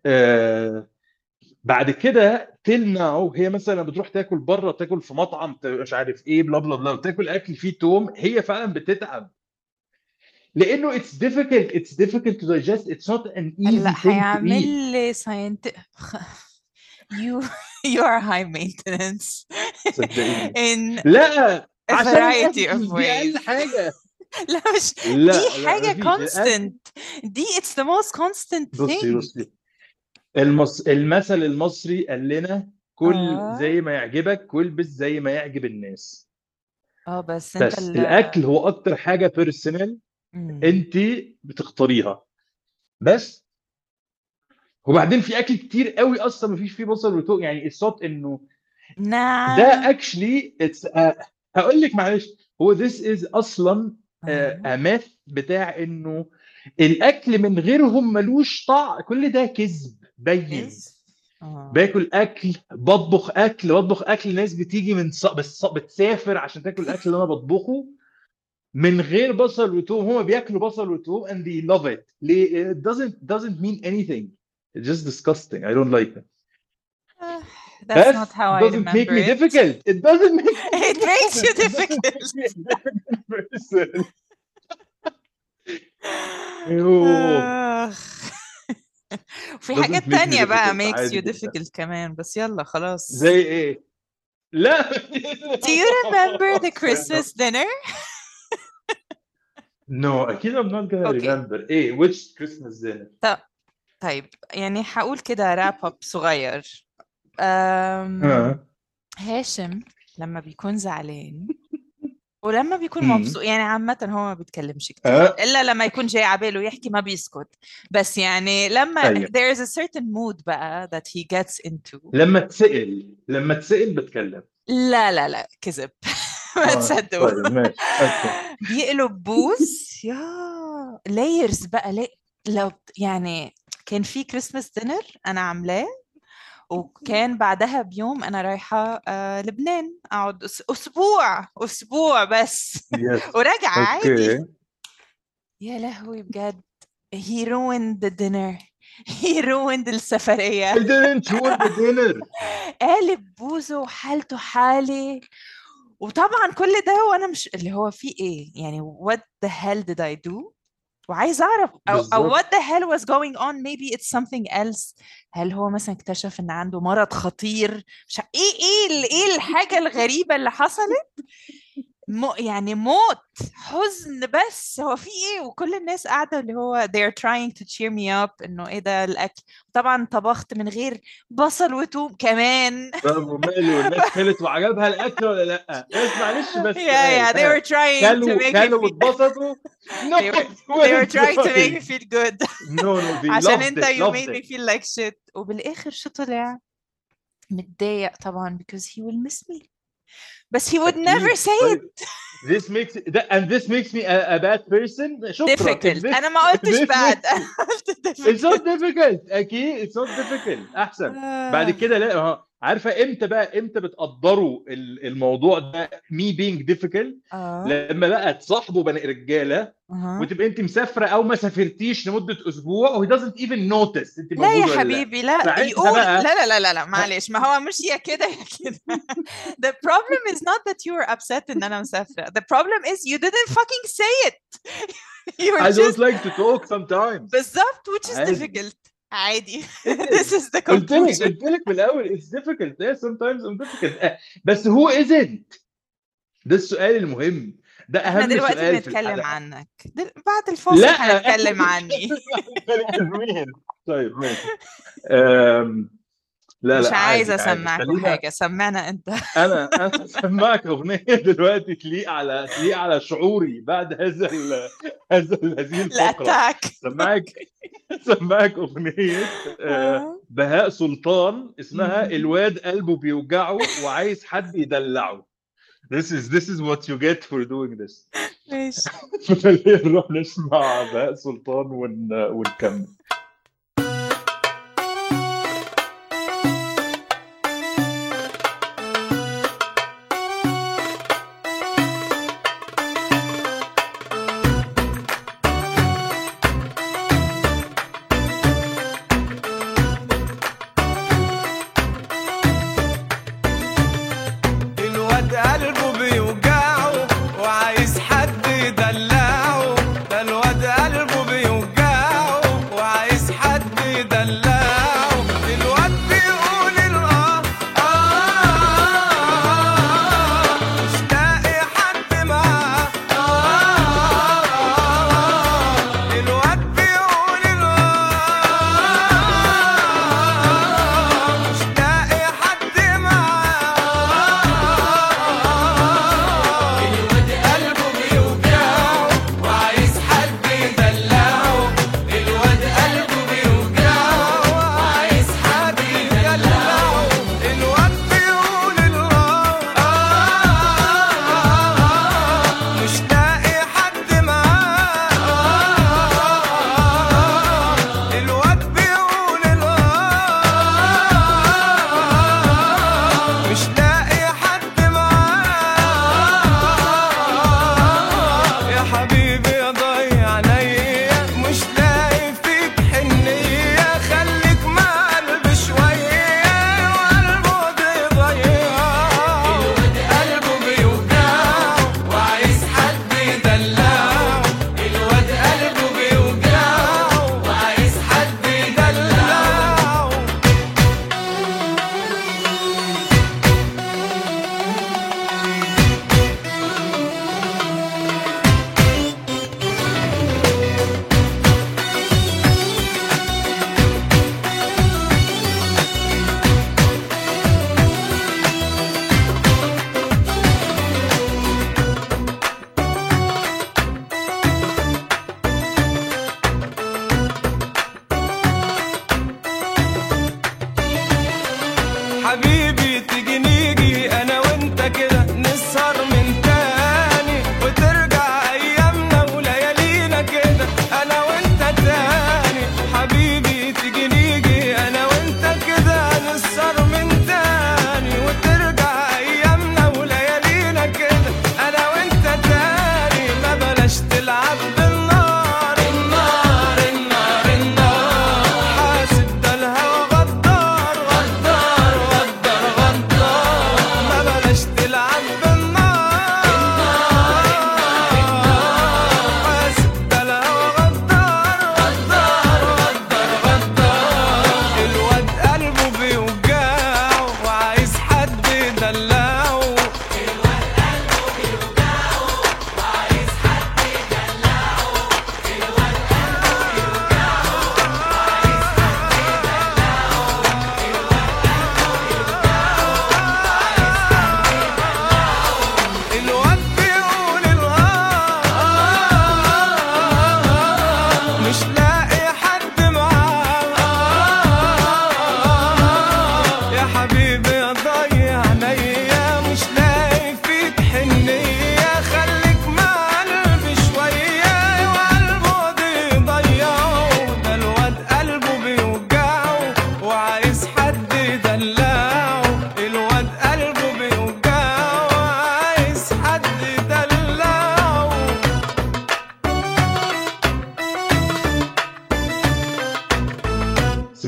Speaker 1: بعد كده تيل ناو هي مثلا بتروح تاكل بره، تاكل في مطعم مش عارف ايه بلا بلا بلا، وتاكل اكل فيه توم، هي فعلا بتتعب لانه it's difficult to digest. It's not an
Speaker 2: هلا
Speaker 1: easy thing to
Speaker 2: هيعمل
Speaker 1: eat.
Speaker 2: لي you you are high maintenance
Speaker 1: صدقيني
Speaker 2: in
Speaker 1: لا،
Speaker 2: a
Speaker 1: عشان
Speaker 2: variety of
Speaker 1: الاكل دي اقل
Speaker 2: ways.
Speaker 1: حاجه.
Speaker 2: لا مش دي
Speaker 1: لا
Speaker 2: حاجة
Speaker 1: مفيش الاكل.
Speaker 2: constant. دي it's the most constant thing.
Speaker 1: بصي المثل المصري قال لنا كل
Speaker 2: اه
Speaker 1: زي ما يعجبك والبس زي ما يعجب الناس.
Speaker 2: بس انت
Speaker 1: بس الاكل هو اكتر حاجه بيرسونال انت بتختاريها بس. وبعدين في اكل كتير قوي اصلا ما فيش فيه بصل وتوم، يعني الصوت انه ده
Speaker 2: نعم.
Speaker 1: اكشلي هقول لك معلش، هو this is اصلا ماث بتاع انه الاكل من غيرهم ملوش طعم، كل ده كذب بين. باكل اكل، بطبخ اكل ناس بتيجي من بتسافر عشان تاكل الاكل اللي انا بطبخه من غير بصل وتوم، هما بياكلوا بصل وتوم and they love it. ليه؟ It doesn't mean anything. It's just disgusting. I don't like it.
Speaker 2: That's
Speaker 1: بس
Speaker 2: not how I
Speaker 1: doesn't make
Speaker 2: remember
Speaker 1: me
Speaker 2: it.
Speaker 1: difficult. It doesn't make me
Speaker 2: It makes you
Speaker 1: difficult. It doesn't
Speaker 2: difficult.
Speaker 1: make me a difficult person. أيوه.
Speaker 2: في
Speaker 1: Doesn't
Speaker 2: حاجات
Speaker 1: make me
Speaker 2: تانية بقى
Speaker 1: difficult.
Speaker 2: makes
Speaker 1: عادي
Speaker 2: you
Speaker 1: جدا.
Speaker 2: difficult كمان، بس يلا خلاص.
Speaker 1: زي ايه؟ لا.
Speaker 2: Do you remember the Christmas dinner?
Speaker 1: No, أكيد I'm not gonna
Speaker 2: Okay.
Speaker 1: remember. إيه? Which Christmas dinner?
Speaker 2: طيب يعني هقول كده راب اب صغير. هاشم لما بيكون زعلان ولما بيكون مبسوط، يعني عامة هو ما بيتكلمش كتير إلا لما يكون جاي عباله يحكي ما بيسكت، بس يعني لما
Speaker 1: أيوه.
Speaker 2: there is a certain mood بقى that he gets into.
Speaker 1: لما تسأل بتكلم.
Speaker 2: لا كذب ما تصدقوا.
Speaker 1: طيب ماشي اوكي.
Speaker 2: بيقلب بوس يا لايرز بقى. لو يعني كان في كريسماس دينر انا عاملاه، وكان بعدها بيوم انا رايحه لبنان اقعد اسبوع بس وراجعه عادي. يا لهوي بجد he ruined the dinner. he ruined السفريه.
Speaker 1: I didn't ruin the dinner.
Speaker 2: قالب بوزه وحالته حالي، وطبعا كل ده وانا مش اللي هو في ايه يعني what the hell did I do. وعايز اعرف أو what the hell was going on. maybe it's something else. هل هو مثلا اكتشف ان عنده مرض خطير؟ مش ايه الحاجة الغريبة اللي حصلت. يعني موت حزن، بس هو في ايه. وكل الناس قاعدة اللي هو they're trying to cheer me up انه ايه ده الاكل. طبعا طبخت من غير بصل وتوم كمان.
Speaker 1: وماله الناس كلت وعجبها الاكل ولا لا؟ بس معلش بس
Speaker 2: yeah they were trying to make me
Speaker 1: كلوا واتبسطوا. No,
Speaker 2: they were trying to make me feel good.
Speaker 1: no they
Speaker 2: عشان
Speaker 1: loved
Speaker 2: انت
Speaker 1: it.
Speaker 2: you made me feel like shit. وبالاخر شو طلع؟ متضايق طبعا because he will miss me. But he would never say it.
Speaker 1: This makes me a bad person.
Speaker 2: difficult. أنا ما قلتش bad.
Speaker 1: It's not difficult. أكيد it's not difficult. أحسن. بعد كده لا عارفه امتى بتقدروا الموضوع ده me being difficult؟ لما بقى تصاحبوا بني رجاله وتبقى انت مسافره او ما سافرتيش لمده اسبوع و he doesn't even notice انت
Speaker 2: لا
Speaker 1: موجوده
Speaker 2: يا
Speaker 1: ولا
Speaker 2: حبيبي، لا
Speaker 1: ساعتها
Speaker 2: يقول
Speaker 1: بقى
Speaker 2: لا لا لا لا لا معلش، ما هو مش يا كده يا كده. The problem is not that you were upset ان انا مسافره. The problem is you didn't fucking say it. You were
Speaker 1: I don't
Speaker 2: just
Speaker 1: like to talk sometimes.
Speaker 2: بالظبط which is
Speaker 1: عادي.
Speaker 2: difficult. عادي.
Speaker 1: It
Speaker 2: This
Speaker 1: is.
Speaker 2: is the
Speaker 1: قلت
Speaker 2: conclusion.
Speaker 1: لك من الاول it's difficult. Yeah, sometimes I'm difficult. بس who isn't؟ ده السؤال المهم، ده
Speaker 2: احنا
Speaker 1: اهم
Speaker 2: دلوقتي
Speaker 1: سؤال في
Speaker 2: بنتكلم
Speaker 1: الحلقه.
Speaker 2: عنك، بعد الفاصل
Speaker 1: لا احنا
Speaker 2: هنتكلم عني.
Speaker 1: بنتكلم. طيب ماشي. لا
Speaker 2: مش
Speaker 1: لا
Speaker 2: عايزه
Speaker 1: عادي
Speaker 2: اسمعكوا
Speaker 1: خلينا.
Speaker 2: حاجه، سمعنا انت.
Speaker 1: انا سمعك اغنيه دلوقتي تليق على شعوري بعد هذه الفقره.
Speaker 2: الاتاك.
Speaker 1: سمعك اغنيه بهاء سلطان اسمها الواد قلبه بيوجعه وعايز حد يدلعه. This is what you get for doing this.
Speaker 2: ماشي.
Speaker 1: خلينا نروح نسمع بهاء سلطان ونكمل.
Speaker 4: وعايز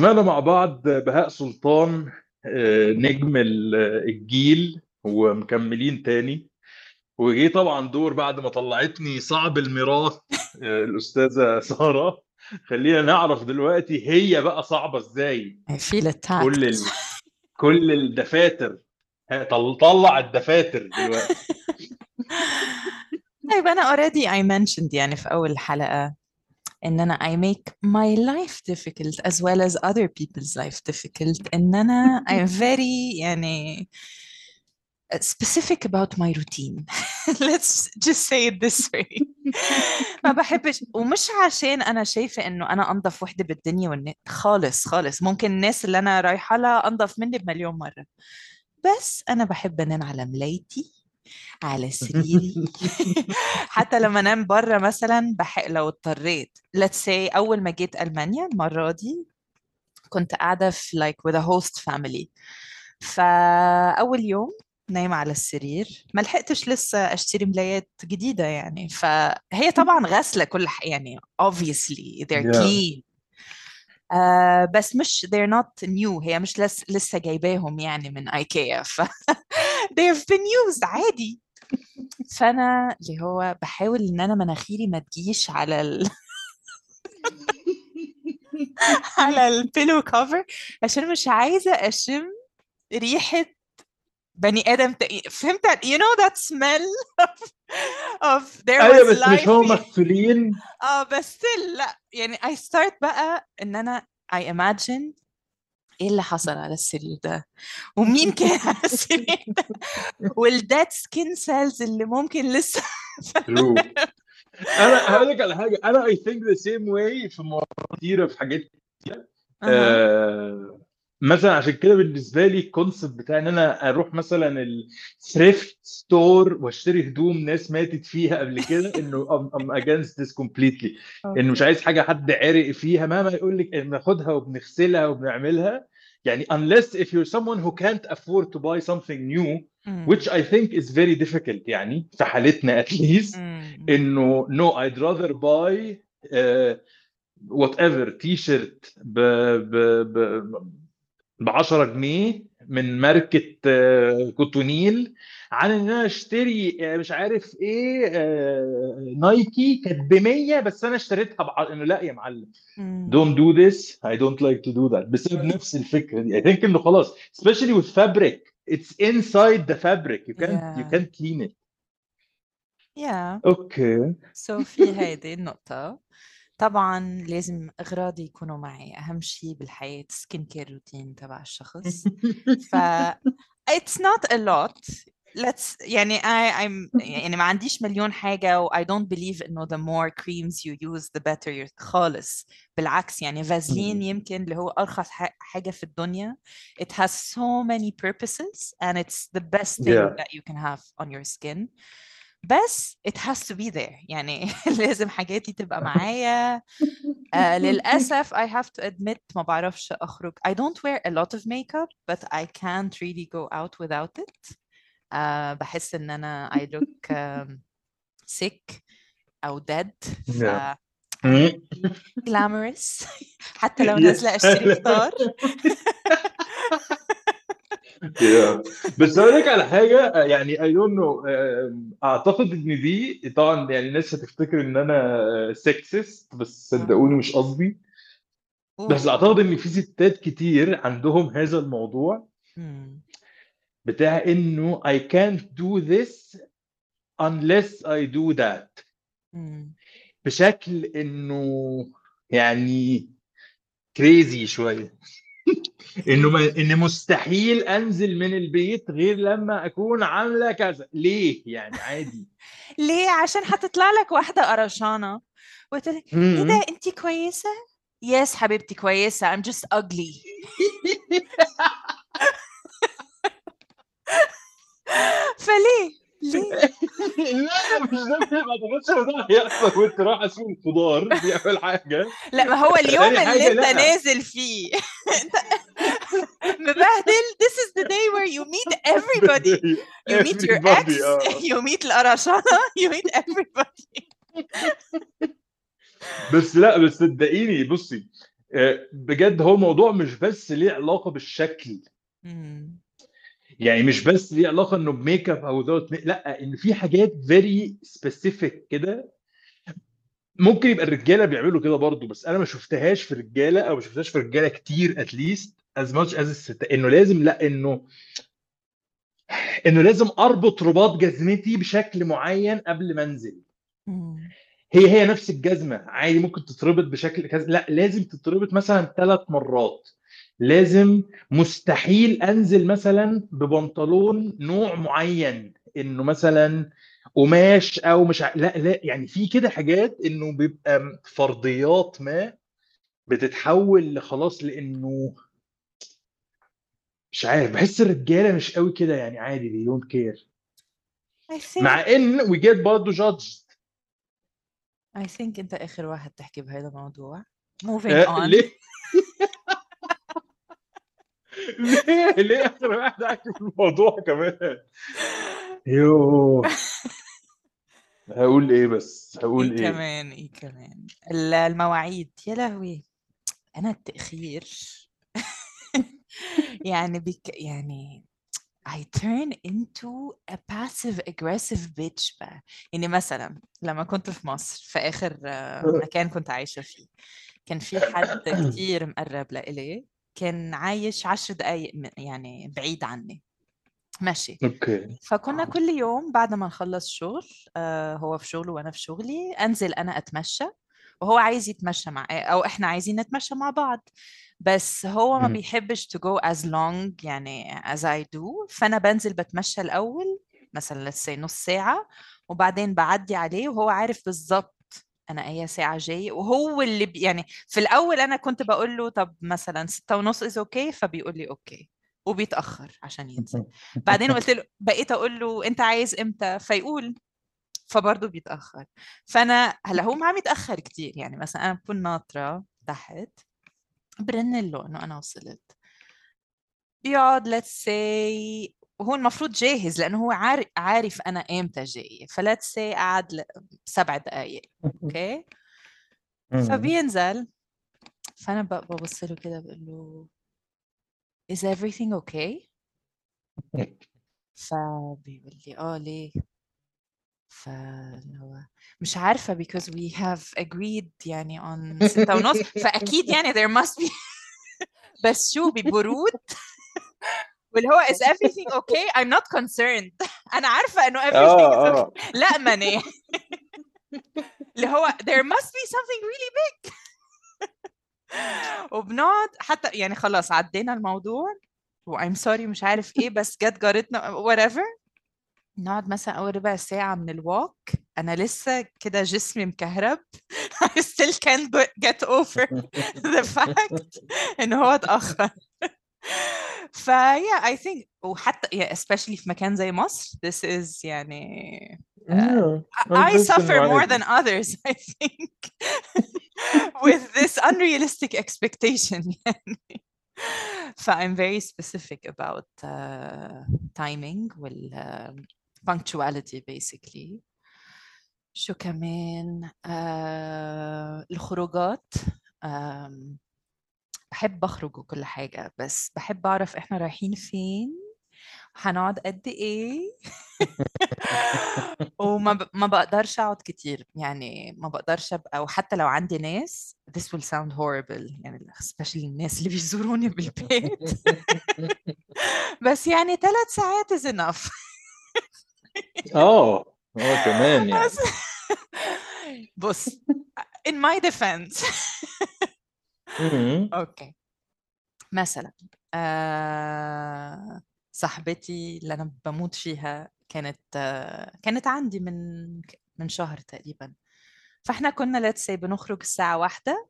Speaker 1: سمعنا مع بعض بهاء سلطان، نجم الجيل، ومكملين تاني. وجي طبعا دور بعد ما طلعتني صعب الميراث الأستاذة سارة. خلينا نعرف دلوقتي هي بقى صعبة ازاي.
Speaker 2: I feel attacked.
Speaker 1: كل الدفاتر، طلع الدفاتر دلوقتي.
Speaker 2: طيب أنا already I mentioned يعني في أول حلقة إن أنا I make my life difficult as well as other people's life difficult. إن أنا I'm very يعني specific about my routine. Let's just say it this way. ما بحبش، ومش عشان أنا شايفة إنه أنا أنظف وحدة بالدنيا خالص خالص. ممكن الناس اللي أنا رايحة لها أنظف مني بمليون مرة، بس أنا بحب أنام على ملايتي على سريري. حتى لما انام بره مثلا لو اضطريت let's say اول ما جيت المانيا المره دي كنت قاعده في like with a host family. فاول يوم نايمه على السرير، ما لحقتش لسه اشتري ملايات جديده يعني، فهي طبعا غاسله كل يعني obviously they're
Speaker 1: Yeah.
Speaker 2: clean. بس مش they're not new، هي مش لسه جايباهم يعني من ايكيا they have been used عادي. فانا اللي هو بحاول ان انا مناخيري ما تجيش على على البيلو كفر عشان مش عايزه اشم ريحه بني ادم فهمت you know that smell of there
Speaker 1: ايوه
Speaker 2: was
Speaker 1: بس مش هم
Speaker 2: life.
Speaker 1: مغسولين.
Speaker 2: بس لا يعني I start بقى ان انا I imagine ايه اللي حصل على السرير ده ومين كان على السرير ده والديد سكين سيلز اللي ممكن لسه.
Speaker 1: True. انا هقول لك على حاجه، انا I think the same way في مواضيع كتيره، في حاجات مثلا. عشان كده بالنسبه لي الكونسبت بتاع ان انا اروح مثلا الثريفت ستور واشتري هدوم ناس ماتت فيها قبل كده، انه I'm against this completely. انه مش عايز حاجه حد عرق فيها مهما يقول لك بناخدها وبنغسلها وبنعملها يعني unless if you're someone who can't afford to buy something new which I think is very difficult يعني في حالتنا at least. انه no I'd rather buy whatever تي-شيرت ب 10 جنيه من ماركة كوتونيل عن ان انا اشتري مش عارف ايه نايكي كانت ب 100 بس انا اشتريتها انه لا يا معلم don't do this I don't like to do that بسبب نفس الفكرة دي. I think انه خلاص especially with fabric it's inside the fabric you can't clean it. اوكي
Speaker 2: so في هيدي النقطة. طبعا لازم اغراضي يكونوا معي، اهم شيء بالحياة سكين كير روتين تبع الشخص. ف it's not a lot. let's يعني I'm يعني ما عنديش مليون حاجة و I don't believe إنه the more creams you use the better خالص. بالعكس يعني فازلين يمكن اللي هو أرخص حاجة في الدنيا. It has so many purposes and it's the best thing that you can have on your skin. بس it has to be there يعني لازم حاجاتي تبقى معايا. للأسف I have to admit ما بعرفش أخرج. I don't wear a lot of makeup but I can't really go out without it. بحس إن أنا I look sick أو dead. glamorous حتى لو نازلة أشتري فطار.
Speaker 1: بس اقول لك على حاجه يعني I don't know اعتقد ان دي طبعا يعني الناس هتفتكر ان انا سكسست بس صدقوني مش قصدي. بس اعتقد ان في ستات كتير عندهم هذا الموضوع بتاع انه I can't do this unless I do that بشكل انه يعني كريزي شويه. ان مستحيل انزل من البيت غير لما اكون عامله كذا. ليه يعني عادي
Speaker 2: ليه؟ عشان هتطلع لك واحده قرشانه وتقول لك ايه ده انت كويسه؟ يس حبيبتي كويسه I'm just ugly. فليه؟ ليه؟
Speaker 1: لا مش ده، ما اعتقدش ان ده هيحصل وانت رايح اسوق الخضار. دي اول حاجه.
Speaker 2: لا ما هو اليوم اللي انت نازل فيه انت مبهدل. This is the day where you meet everybody. You meet your ex, you meet القرشانة, you meet everybody.
Speaker 1: بس لا بس صدقيني بصي بجد هو الموضوع مش بس ليه علاقة بالشكل،
Speaker 2: مم.
Speaker 1: يعني مش بس ليه علاقة انه بميك اب او لا، ان في حاجات فيري سبيسيفيك كده. ممكن يبقى الرجاله بيعملوا كده برضو، بس انا ما شفتهاش في الرجاله، او ما شفتهاش في الرجاله كتير اتليست از ماتش از الست، انه لازم، لا انه لازم اربط رباط جزمتي بشكل معين قبل ما انزل.
Speaker 2: مم.
Speaker 1: هي نفس الجزمه عادي ممكن تتربط بشكل كذا، لا لازم تتربط مثلا 3 مرات. لازم، مستحيل انزل مثلا ببنطلون نوع معين، انه مثلا قماش او مش لا لا، يعني في كده حاجات انه بيبقى فرضيات ما بتتحول لخلاص، لانه مش عارف، بحس الرجاله مش قوي كده، يعني عادي they don't care،
Speaker 2: I
Speaker 1: مع
Speaker 2: think
Speaker 1: ان we get برضه judged.
Speaker 2: انت اخر واحد تحكي بهذا الموضوع. moving on.
Speaker 1: ليه؟ ليه اخر واحد احكي في الموضوع كمان؟ يوه، هقول ايه بس، هقول ايه؟
Speaker 2: ايه كمان المواعيد، يا لهوي. انا التأخير يعني يعني I turn into a passive aggressive bitch بقى. يعني مثلا لما كنت في مصر في آخر مكان كنت عايشة فيه، كان في حد كتير مقرب لإلي، كان عايش 10 دقايق يعني بعيد عني ماشي.
Speaker 1: اوكي.
Speaker 2: فكنا كل يوم بعد ما نخلص شغل، هو في شغله وأنا في شغلي، أنزل أنا أتمشى، وهو عايز يتمشى أو إحنا عايزين نتمشى مع بعض. بس هو ما بيحبش to go as long يعني as I do. فأنا بنزل بتمشى الأول مثلا let's say نص ساعة، وبعدين بعدي عليه وهو عارف بالظبط أنا أي ساعة جاي. وهو اللي يعني في الأول أنا كنت بقول له طب مثلا 6:30 is okay، فبيقول لي okay، وبيتأخر عشان ينزل. بعدين قلت له، بقيت أقول له أنت عايز إمتى، فيقول، فبرضه بيتأخر. فأنا هلا هو ما عم يتأخر كتير، يعني مثلا أنا بكون ناطرة تحت، برن له إنه أنا وصلت، بيقعد let's say، وهو المفروض جاهز لأنه هو عارف أنا إمتى جاي، فلتس say قعد 7 دقايق أوكي. فبينزل، فأنا ببص له كده بقول له is everything okay؟ فبيقول لي ليه؟ فهو مش عارفة because we have agreed يعني on 6:30، فأكيد يعني there must be بس شو ببرود واللي هو is everything okay I'm not concerned أنا عارفة إنه everything is okay. لا ماني اللي هو there must be something really big. وبنقعد حتى يعني خلاص عدينا الموضوع و I'm sorry مش عارف إيه، بس جت جارتنا whatever. نقعد مثلا أول ربع ساعة من الوالك، أنا لسه كده جسمي مكهرب I still can't get over the fact إنه هو اتأخر. yeah I think، وحتى especially في مكان زي مصر this is يعني I
Speaker 1: بس انه
Speaker 2: suffer more
Speaker 1: عادي.
Speaker 2: than others I think with this unrealistic expectation يعني. I'm very specific about timing وال punctuality basically. شو كمان الخروجات، بحب أخرج وكل حاجة، بس بحب أعرف إحنا رايحين فين، هنقعد قد إيه. ما بقدرش أقعد كتير، يعني ما بقدرش أبقى، وحتى لو عندي ناس this will sound horrible يعني especially الناس اللي بيزوروني بالبيت بس يعني 3 ساعات is enough.
Speaker 1: كمان يعني.
Speaker 2: بص in my defense اوكي، مثلا صاحبتي اللي انا بموت فيها كانت عندي من شهر تقريبا. فاحنا كنا let's say بنخرج الساعة 1،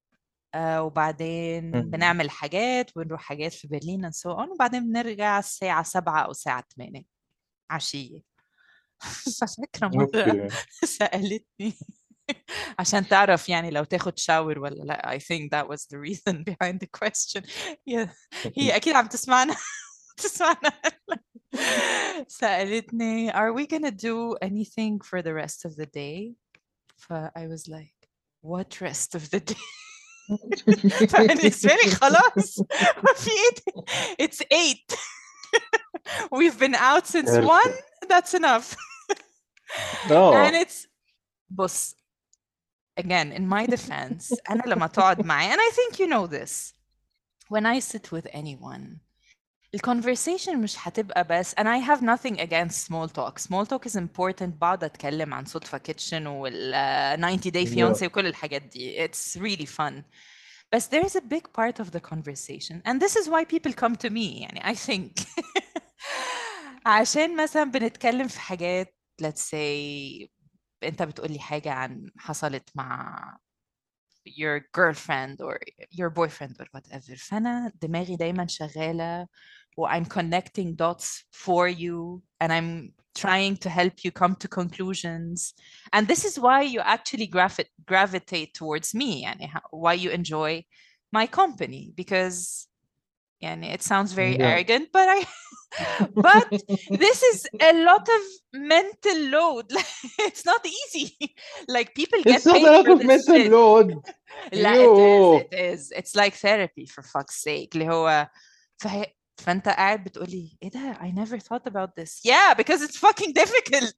Speaker 2: وبعدين بنعمل حاجات ونروح حاجات في برلين and so on، وبعدين بنرجع الساعة 7 أو الساعة 8 عشية. ففاكرة مرة
Speaker 1: اوكي.
Speaker 2: سألتني عشان تعرف يعني لو تاخد شاور ولا لا. I think that was the reason behind the question. هي أكيد عم تسمعنا تسمعنا. سألتني are we gonna do anything for the rest of the day؟ I was like what rest of the day؟ فبالنسبة لي خلاص ما في ايه. It's 8. We've been out since 1.
Speaker 1: كارثة.
Speaker 2: That's enough. And
Speaker 1: اه
Speaker 2: it's بص again in my defense أنا لما تقعد معي and I think you know this when I sit with anyone الconversation مش هتبقى بس and I have nothing against small talk. Small talk is important. بقعد أتكلم عن صدفة كيتشن وال 90 day
Speaker 1: yeah.
Speaker 2: fiancé وكل الحاجات دي. It's really fun. But there's a big part of the conversation and this is why people come to me يعني I think عشان مثلا بنتكلم في حاجات let's say انت بتقولي حاجة عن حصلت مع your girlfriend or your boyfriend or whatever فأنا دماغي دايما شغالة و I'm connecting dots for you and I'm trying to help you come to conclusions and this is why you actually gravitate towards me يعني why you enjoy my company because يعني it sounds very
Speaker 1: Yeah.
Speaker 2: arrogant but but this is a lot of mental load. It's not easy. Like people get
Speaker 1: It's not
Speaker 2: paid
Speaker 1: a lot
Speaker 2: for
Speaker 1: of
Speaker 2: this
Speaker 1: mental
Speaker 2: shit.
Speaker 1: load.
Speaker 2: لا
Speaker 1: Yo.
Speaker 2: it is. It's like therapy for fuck's sake. اللي هو فانت قاعد بتقولي ايه ده I never thought about this. Yeah, because it's fucking difficult.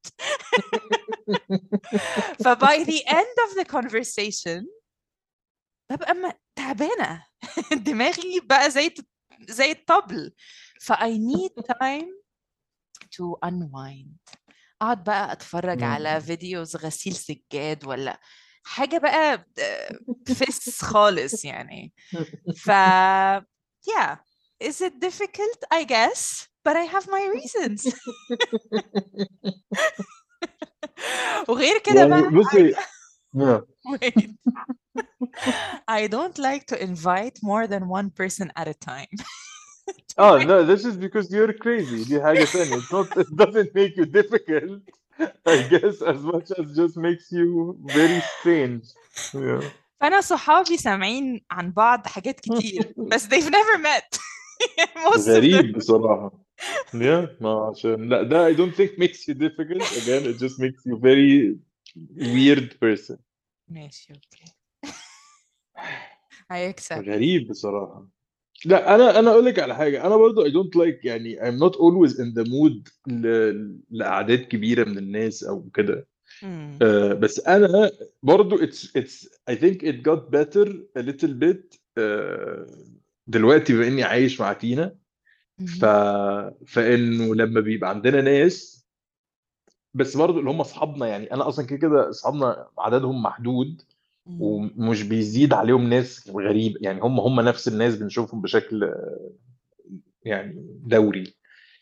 Speaker 2: by the end of the conversation ببقى تعبانة. دماغي بقى زي الطبل. I need time to unwind. اقعد بقى اتفرج على فيديوز غسيل سجاد ولا حاجة بقى فس خالص يعني. yeah, is it difficult? I guess, but I have my reasons. وغير كده
Speaker 1: يعني
Speaker 2: بقى
Speaker 1: بصي yeah.
Speaker 2: wait. I don't like to invite more than one person at a time.
Speaker 1: Oh no, this is because you're crazy. دي حاجة تانية. It's not, it doesn't make you difficult, I guess, as much as just makes you very strange. Yeah.
Speaker 2: فأنا صحابي سامعين عن بعض حاجات كتير بس they've never met. most of them.
Speaker 1: غريب بصراحة. Yeah, ما عشان لا ده I don't think makes you difficult. Again, it just makes you very weird person.
Speaker 2: ماشي اوكي. I accept.
Speaker 1: غريب بصراحة. لا انا اقول لك على حاجه. انا برضو I don't like يعني I'm not always in the mood لاعداد كبيره من الناس او كده. بس انا برضو it's I think it got better a little bit دلوقتي بما اني عايش مع تينا. فانه لما بيبقى عندنا ناس بس برضو اللي هم اصحابنا يعني انا اصلا كده كده اصحابنا عددهم محدود ومش بيزيد عليهم ناس غريبه يعني هم نفس الناس بنشوفهم بشكل يعني دوري.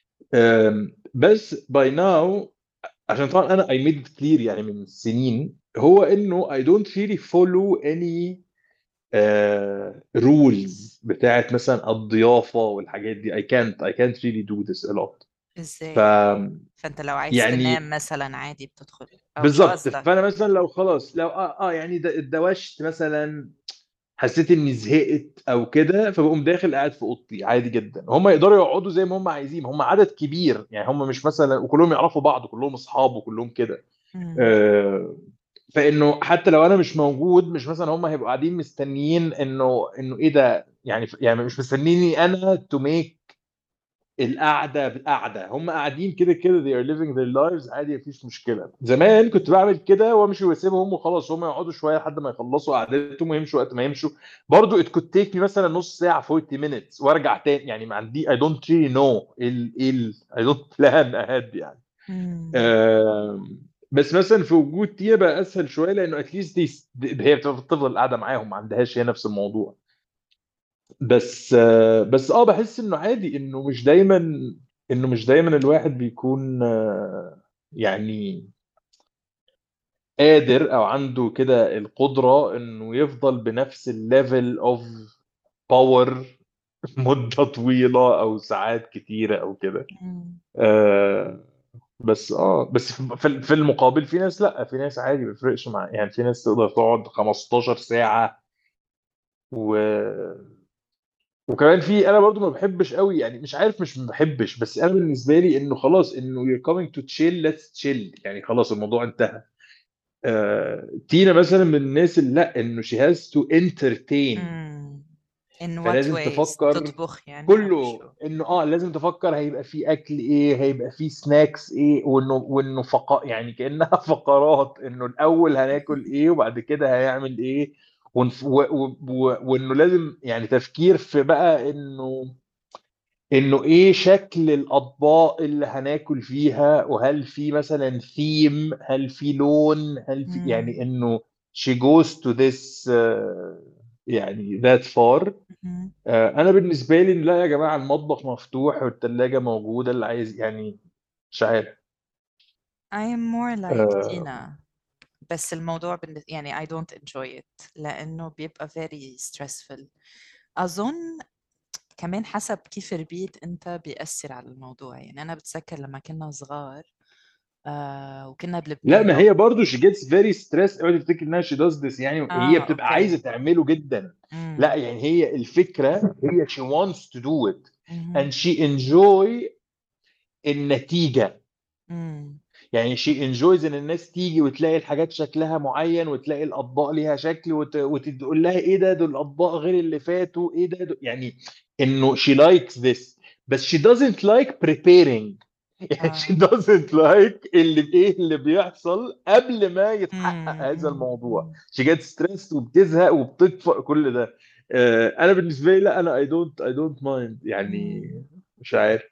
Speaker 1: بس باي ناو عشان طبعا انا I made it clear يعني من سنين هو انه I don't really follow any rules بتاعت مثلا الضيافة والحاجات دي. I can't really do this a lot.
Speaker 2: ازاي؟
Speaker 1: ف
Speaker 2: فانت لو عايز
Speaker 1: يعني
Speaker 2: تنام مثلا عادي بتدخل او مش
Speaker 1: بالظبط.
Speaker 2: قصدك؟
Speaker 1: فانا مثلا لو خلاص لو يعني اتدوشت مثلا حسيت اني زهقت او كده فبقوم داخل قاعد في اوضتي عادي جدا. هم يقدروا يقعدوا زي ما هم عايزين. هم عدد كبير يعني هم مش مثلا وكلهم يعرفوا بعض وكلهم اصحاب وكلهم كده. فانه حتى لو انا مش موجود مش مثلا هم هيبقوا قاعدين مستنيين انه ايه ده يعني مش مستنيني انا تو ميك القعده. هم قاعدين كده كده they are living their lives عادي مفيش مشكله. زمان كنت بعمل كده وامشي واسيبهم وخلاص هم يقعدوا شويه لحد ما يخلصوا قعدتهم ويمشوا وقت ما يمشوا. برضو it could take me مثلا نص ساعه 40 minutes وارجع تاني يعني ما عندي I don't really know I don't plan ahead يعني. بس مثلا في وجود تيا بقى اسهل شويه لانه اتليست هي بتفضل قاعده معاهم ما عندهاش هي نفس الموضوع. بس بحس انه عادي انه مش دايما الواحد بيكون يعني قادر او عنده كده القدرة انه يفضل بنفس الليفل اوف باور مدة طويلة او ساعات كتيرة او كده. بس في المقابل في ناس لا في ناس عادي ما بيفرقش مع يعني في ناس تقدر تقعد 15 ساعة وكمان في انا برضو ما بحبش قوي يعني مش عارف مش ما بحبش بس انا بالنسبه لي انه خلاص انه you're coming to chill let's chill يعني خلاص الموضوع انتهى. تينا مثلا من الناس اللي لا انه she has to entertain،
Speaker 2: in what
Speaker 1: فلازم
Speaker 2: ways
Speaker 1: تفكر
Speaker 2: تطبخ يعني ولا
Speaker 1: كله
Speaker 2: شو؟
Speaker 1: انه لازم تفكر هيبقى في اكل ايه، هيبقى في سناكس ايه، وانه يعني كأنها فقرات، انه الاول هناكل ايه وبعد كده هيعمل ايه، وانه لازم يعني تفكير في بقى انه ايه شكل الاطباق اللي هناكل فيها، وهل في مثلا ثيم، هل في لون، هل في يعني انه she goes to this يعني that far. انا بالنسبه لي لا يا جماعه، المطبخ مفتوح والثلاجه موجوده، اللي عايز يعني مش عارف.
Speaker 2: I am more like
Speaker 1: آه،
Speaker 2: Tina، بس الموضوع يعني I don't enjoy it لأنه بيبقى very stressful. أظن كمان حسب كيف ربيت أنت بيأثر على الموضوع. يعني أنا بتذكر لما كنا صغار وكنا
Speaker 1: لا،
Speaker 2: بلبنان.
Speaker 1: ما هي برضو she gets very stressed، اوعي تفتكر انها she does this يعني هي بتبقى عايزه
Speaker 2: أوكي.
Speaker 1: تعمله جدا. لا يعني هي الفكره هي she wants to do it and she enjoy النتيجه. يعني she enjoys ان الناس تيجي وتلاقي الحاجات شكلها معين، وتلاقي الاطباق ليها شكل، وتقول لها ايه ده، دول الاطباق غير اللي فاتوا، ايه ده يعني انه she likes this، بس she doesn't like preparing. يعني she doesn't like ايه اللي بيحصل قبل ما يتحقق هذا الموضوع. she gets stressed وبتزهق وبتطفئ كل ده. انا بالنسبه لي لا، انا I don't mind يعني، مش عارف.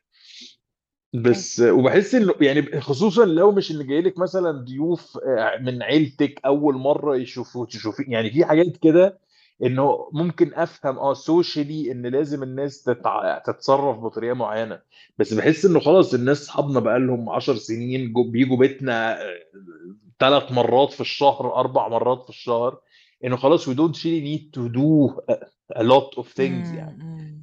Speaker 1: بس وبحس انه يعني خصوصا لو مش اللي جاي لك مثلا ضيوف من عيلتك اول مره تشوفي يعني في حاجات كده، انه ممكن افهم سوشيالي ان لازم الناس تتصرف بطريقه معينه. بس بحس انه خلاص الناس اصحابنا بقالهم 10 سنين بيجوا بيتنا 3 مرات في الشهر، 4 مرات في الشهر، انه خلاص we don't really need to do a lot of things يعني.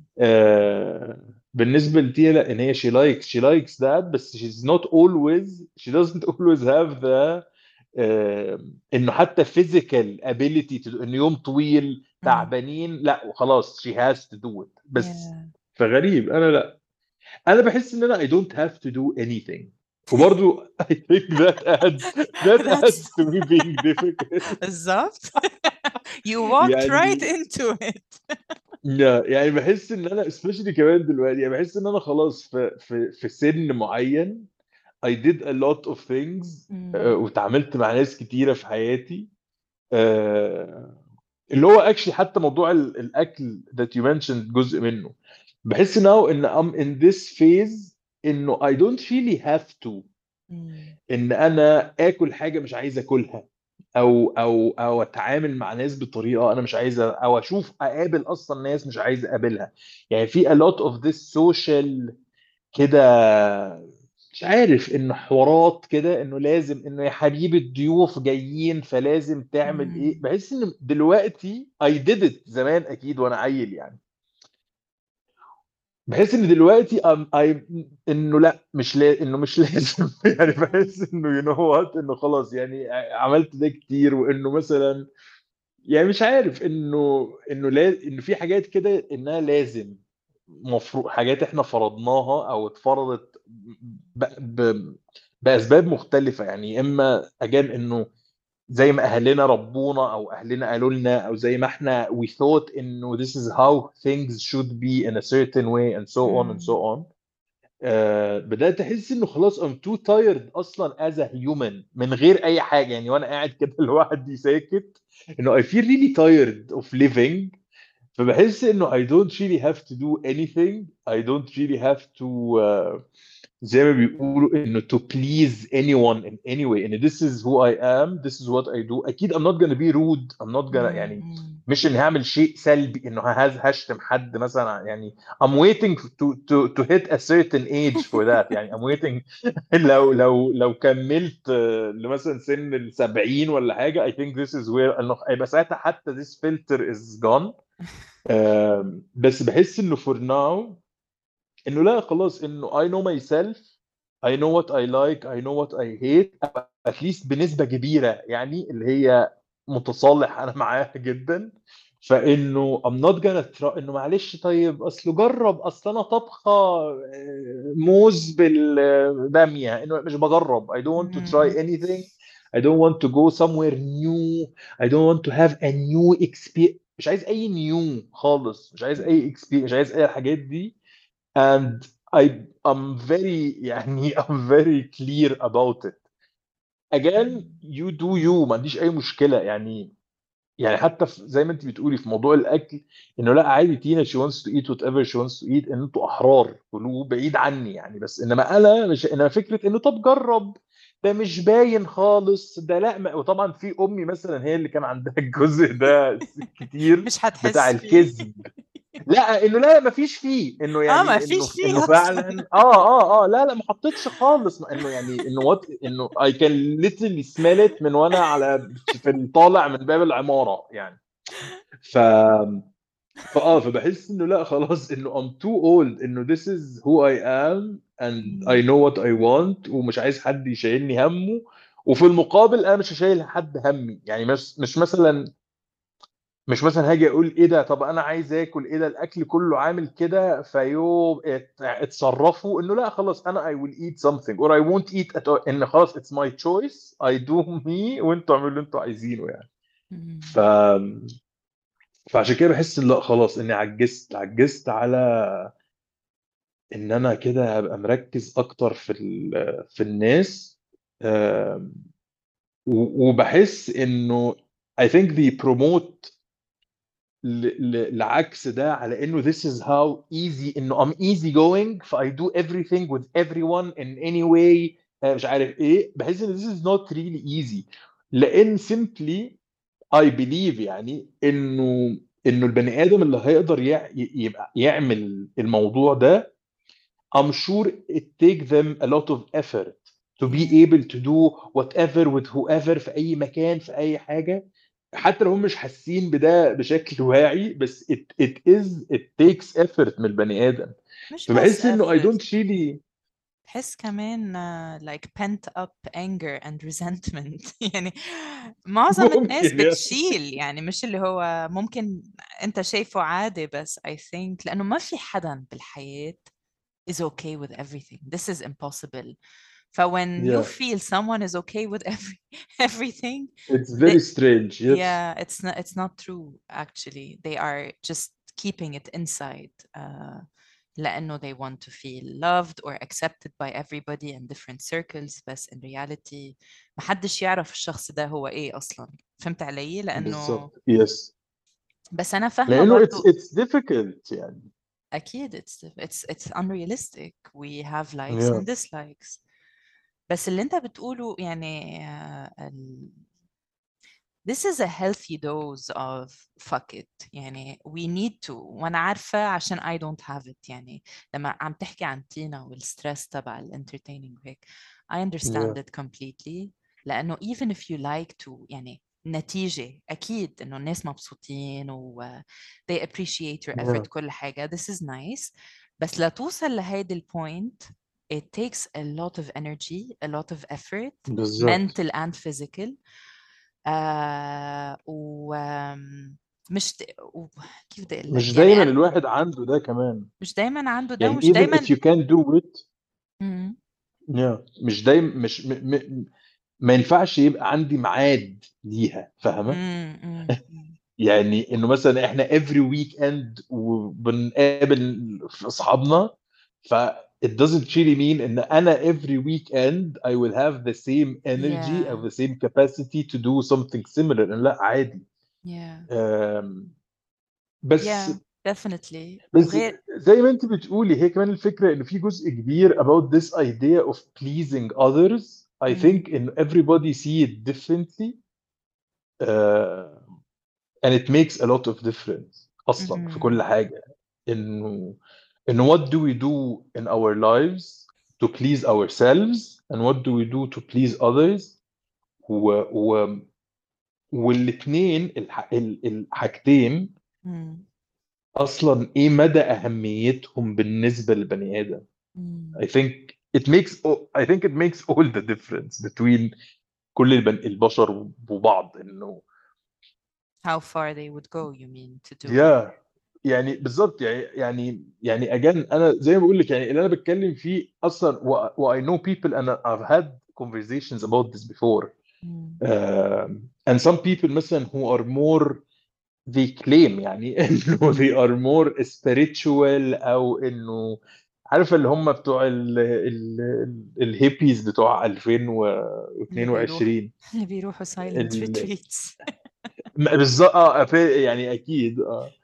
Speaker 1: بالنسبه لتيا لا، ان هي she likes that، بس she doesn't always have the انه حتى physical ability انه يوم طويل تعبانين، لا وخلاص she has to do it بس. فغريب، انا لا، انا بحس ان انا I don't have to do anything، وبرضو I think that adds to me being difficult.
Speaker 2: بالظبط. You walked right
Speaker 1: يعني
Speaker 2: into it.
Speaker 1: يعني بحس ان انا especially كمان دلوقتي، يعني بحس ان انا خلاص في سن معين I did a lot of things، وتعاملت مع ناس كتيرة في حياتي، آه، اللي هو actually حتى موضوع الاكل that you mentioned جزء منه. بحس now ان I'm in this phase انه I don't really have to ان انا اكل حاجة مش عايز اكلها، او اتعامل مع ناس بطريقه انا مش عايزه، او اقابل اصلا ناس مش عايز اقابلها. يعني في a lot of this social كده، مش عارف، انه حوارات كده، انه لازم انه يا حبيبي الضيوف جايين فلازم تعمل ايه. بحس ان دلوقتي I did it زمان اكيد وانا عيل يعني، بحس ان دلوقتي انه لا مش انه مش لازم يعني بحس انه انه خلاص يعني عملت ده كتير، وانه مثلا يعني مش عارف انه في حاجات كده انها لازم، مفروض حاجات احنا فرضناها او اتفرضت باسباب مختلفه. يعني اما اجان انه زي ما اهلنا ربونا، او اهلنا قالوا لنا، او زي ما احنا we thought انه this is how things should be in a certain way and so on and so on. بدأت أحس إنه خلاص I'm too tired أصلا as a human من غير أي حاجة يعني، وأنا قاعد كده لوحدي ساكت، إنه I feel really tired of living. فبحس إنه I don't really have to do anything. I don't really have to زي ما بيقولوا إنه to please anyone in any way. إن this is who I am, this is what I do. أكيد I'm not gonna be rude. I'm not gonna يعني مش إني هعمل شيء سلبي، إنه هشتم حد مثلا يعني. I'm waiting to hit a certain age for that يعني. I'm waiting لو كملت لمثلا سن ال 70 ولا حاجة. I think this is where إنه هيبقى ساعتها حتى this filter is gone. بس بحس إنه for now انه لا خلاص، انه I know myself. I know what I like. I know what I hate. at least بنسبة كبيرة يعني، اللي هي متصالح انا معاها جدا. فانه I'm not gonna try انه معلش طيب اصله جرب، اصل انا طبخة موز بالبامية، انه مش بجرب. I don't want to try anything. I don't want to go somewhere new. I don't want to have a new experience. مش عايز اي نيو خالص، مش عايز اي experience، مش عايز اي الحاجات دي. and I'm very يعني I'm very clear about it. again you do you، ما عنديش اي مشكله يعني. يعني حتى في زي ما انت بتقولي في موضوع الاكل، انه لا عادي تينا she wants to eat whatever she wants to eat، ان انتوا احرار كلوا بعيد عني يعني. بس انما انا مش، انما فكره انه طب جرب، ده مش باين خالص، ده لا وطبعا في امي مثلا هي اللي كان عندها الجزء ده كتير
Speaker 2: مش
Speaker 1: بتاع
Speaker 2: هتحس فيه.
Speaker 1: الكذب. لا انه لا ما فيش فيه، انه
Speaker 2: ما
Speaker 1: يعني
Speaker 2: فيش
Speaker 1: انه
Speaker 2: فيه اصلا.
Speaker 1: فعلا لا ما حطيتش خالص، انه يعني انه وات انه I can literally smell it من وانا على في الطالع من باب العمارة يعني. ف فبحس انه لا خلاص، انه I'm too old، انه this is who I am and I know what I want، ومش عايز حد يشيلني همه. وفي المقابل انا مش هشيل حد همي يعني. مش مثلا هاجي اقول ايه ده، طب انا عايز اكل، ايه ده الاكل كله عامل كده فيو اتصرفوا، انه لا خلاص انا I will eat something or I won't eat at all، ان خلاص it's my choice I do me، وانتوا اعملوا اللي انتوا عايزينه يعني. ف فعشان كده بحس ان لا خلاص اني عجزت على ان انا كده هبقى مركز اكتر في الناس. آم، وبحس انه I think they promote العكس ده، على انه this is how easy، انه I'm easy going ف I do everything with everyone in any way. مش عارف ايه، بحس ان this is not really easy. لان simply I believe يعني انه البني ادم اللي هيقدر يبقى يعمل الموضوع ده I'm sure it take them a lot of effort to be
Speaker 2: yeah.
Speaker 1: able to do whatever with whoever في أي مكان في أي حاجة، حتى لو هم مش حاسين بده بشكل واعي. بس it takes effort من البني آدم.
Speaker 2: مش بس
Speaker 1: فبحس إنه I
Speaker 2: effort،
Speaker 1: don't really
Speaker 2: بحس كمان like pent up anger and resentment. يعني معظم الناس
Speaker 1: ممكن يعني.
Speaker 2: بتشيل، يعني مش اللي هو ممكن انت شايفه عادي، بس I think لأنه ما في حدا بالحياة is okay with everything. This is impossible. So when you
Speaker 1: Yeah,
Speaker 2: feel someone is okay with everything,
Speaker 1: it's
Speaker 2: they,
Speaker 1: very strange. Yes.
Speaker 2: yeah, it's not true actually. They are just keeping it inside. لأنه they want to feel loved or accepted by everybody in different circles. بس in reality محدش يعرف الشخص ده هو إيه أصلا. فهمت علي؟ لأنه
Speaker 1: بالظبط. Yes.
Speaker 2: بس أنا فاهمة
Speaker 1: لأنه
Speaker 2: برضو.
Speaker 1: it's difficult يعني.
Speaker 2: أكيد it's unrealistic. We have likes
Speaker 1: Yeah.
Speaker 2: and dislikes. بس اللي أنت بتقوله يعني this is a healthy dose of fuck it. يعني we need to. وانا عارفة عشان I don't have it. يعني لما عم تحكي عن تينا والستريس تبع الانترتيننج وهيك I
Speaker 1: Yeah.
Speaker 2: understand it completely. لأنه even if you like to يعني نتيجة أكيد إنه الناس مبسوطين و they appreciate your
Speaker 1: Yeah.
Speaker 2: effort كل حاجة. This is nice. بس لتوصل لهيدي البوينت it takes a lot of energy, a lot of effort,
Speaker 1: بالظبط.
Speaker 2: mental and physical. ومش كيف بدي اقول
Speaker 1: مش
Speaker 2: لك يعني
Speaker 1: دايما
Speaker 2: أنا
Speaker 1: الواحد عنده ده كمان
Speaker 2: مش دايما عنده ده
Speaker 1: يعني.
Speaker 2: ومش
Speaker 1: even if
Speaker 2: دايما.
Speaker 1: you can do it.
Speaker 2: مم.
Speaker 1: مش دايما مش ما ينفعش يبقى عندي ميعاد ليها، فاهمة؟
Speaker 2: مم. مم. مم.
Speaker 1: يعني انه مثلا احنا every weekend وبنقابل في اصحابنا، ف it doesn't really mean ان انا every weekend I will have the same energy
Speaker 2: yeah
Speaker 1: or the same capacity to do something similar. إنه لا عادي.
Speaker 2: yeah
Speaker 1: أم، بس
Speaker 2: yeah definitely.
Speaker 1: بس
Speaker 2: وغير
Speaker 1: زي ما انت بتقولي، هي كمان الفكره ان في جزء كبير about this idea of pleasing others. I
Speaker 2: مم.
Speaker 1: think in everybody see it differently, uh, and it makes a lot of difference اصلا في كل
Speaker 2: مم.
Speaker 1: حاجه. انه what do we do in our lives to please ourselves and what do we do to please others. و, و, والاثنين الحاجتين
Speaker 2: مم.
Speaker 1: اصلا ايه مدى اهميتهم بالنسبه للبني ادم.
Speaker 2: مم.
Speaker 1: I think it makes all the difference between كل البشر وبعض. انه
Speaker 2: how far they would go you mean to do it.
Speaker 1: يا يعني بالظبط يعني again انا زي ما بقول لك يعني اللي انا بتكلم فيه اصلا I know people and I've had conversations about this before.
Speaker 2: مم.
Speaker 1: and some people مثلا who are more they claim يعني انه they are more spiritual او انه عارفه اللي هم بتوع الهيبيز بتوع
Speaker 2: اللي بيروحوا
Speaker 1: 2022
Speaker 2: اللي بيروحوا silent
Speaker 1: ال-
Speaker 2: retreats.
Speaker 1: بالظبط يعني اكيد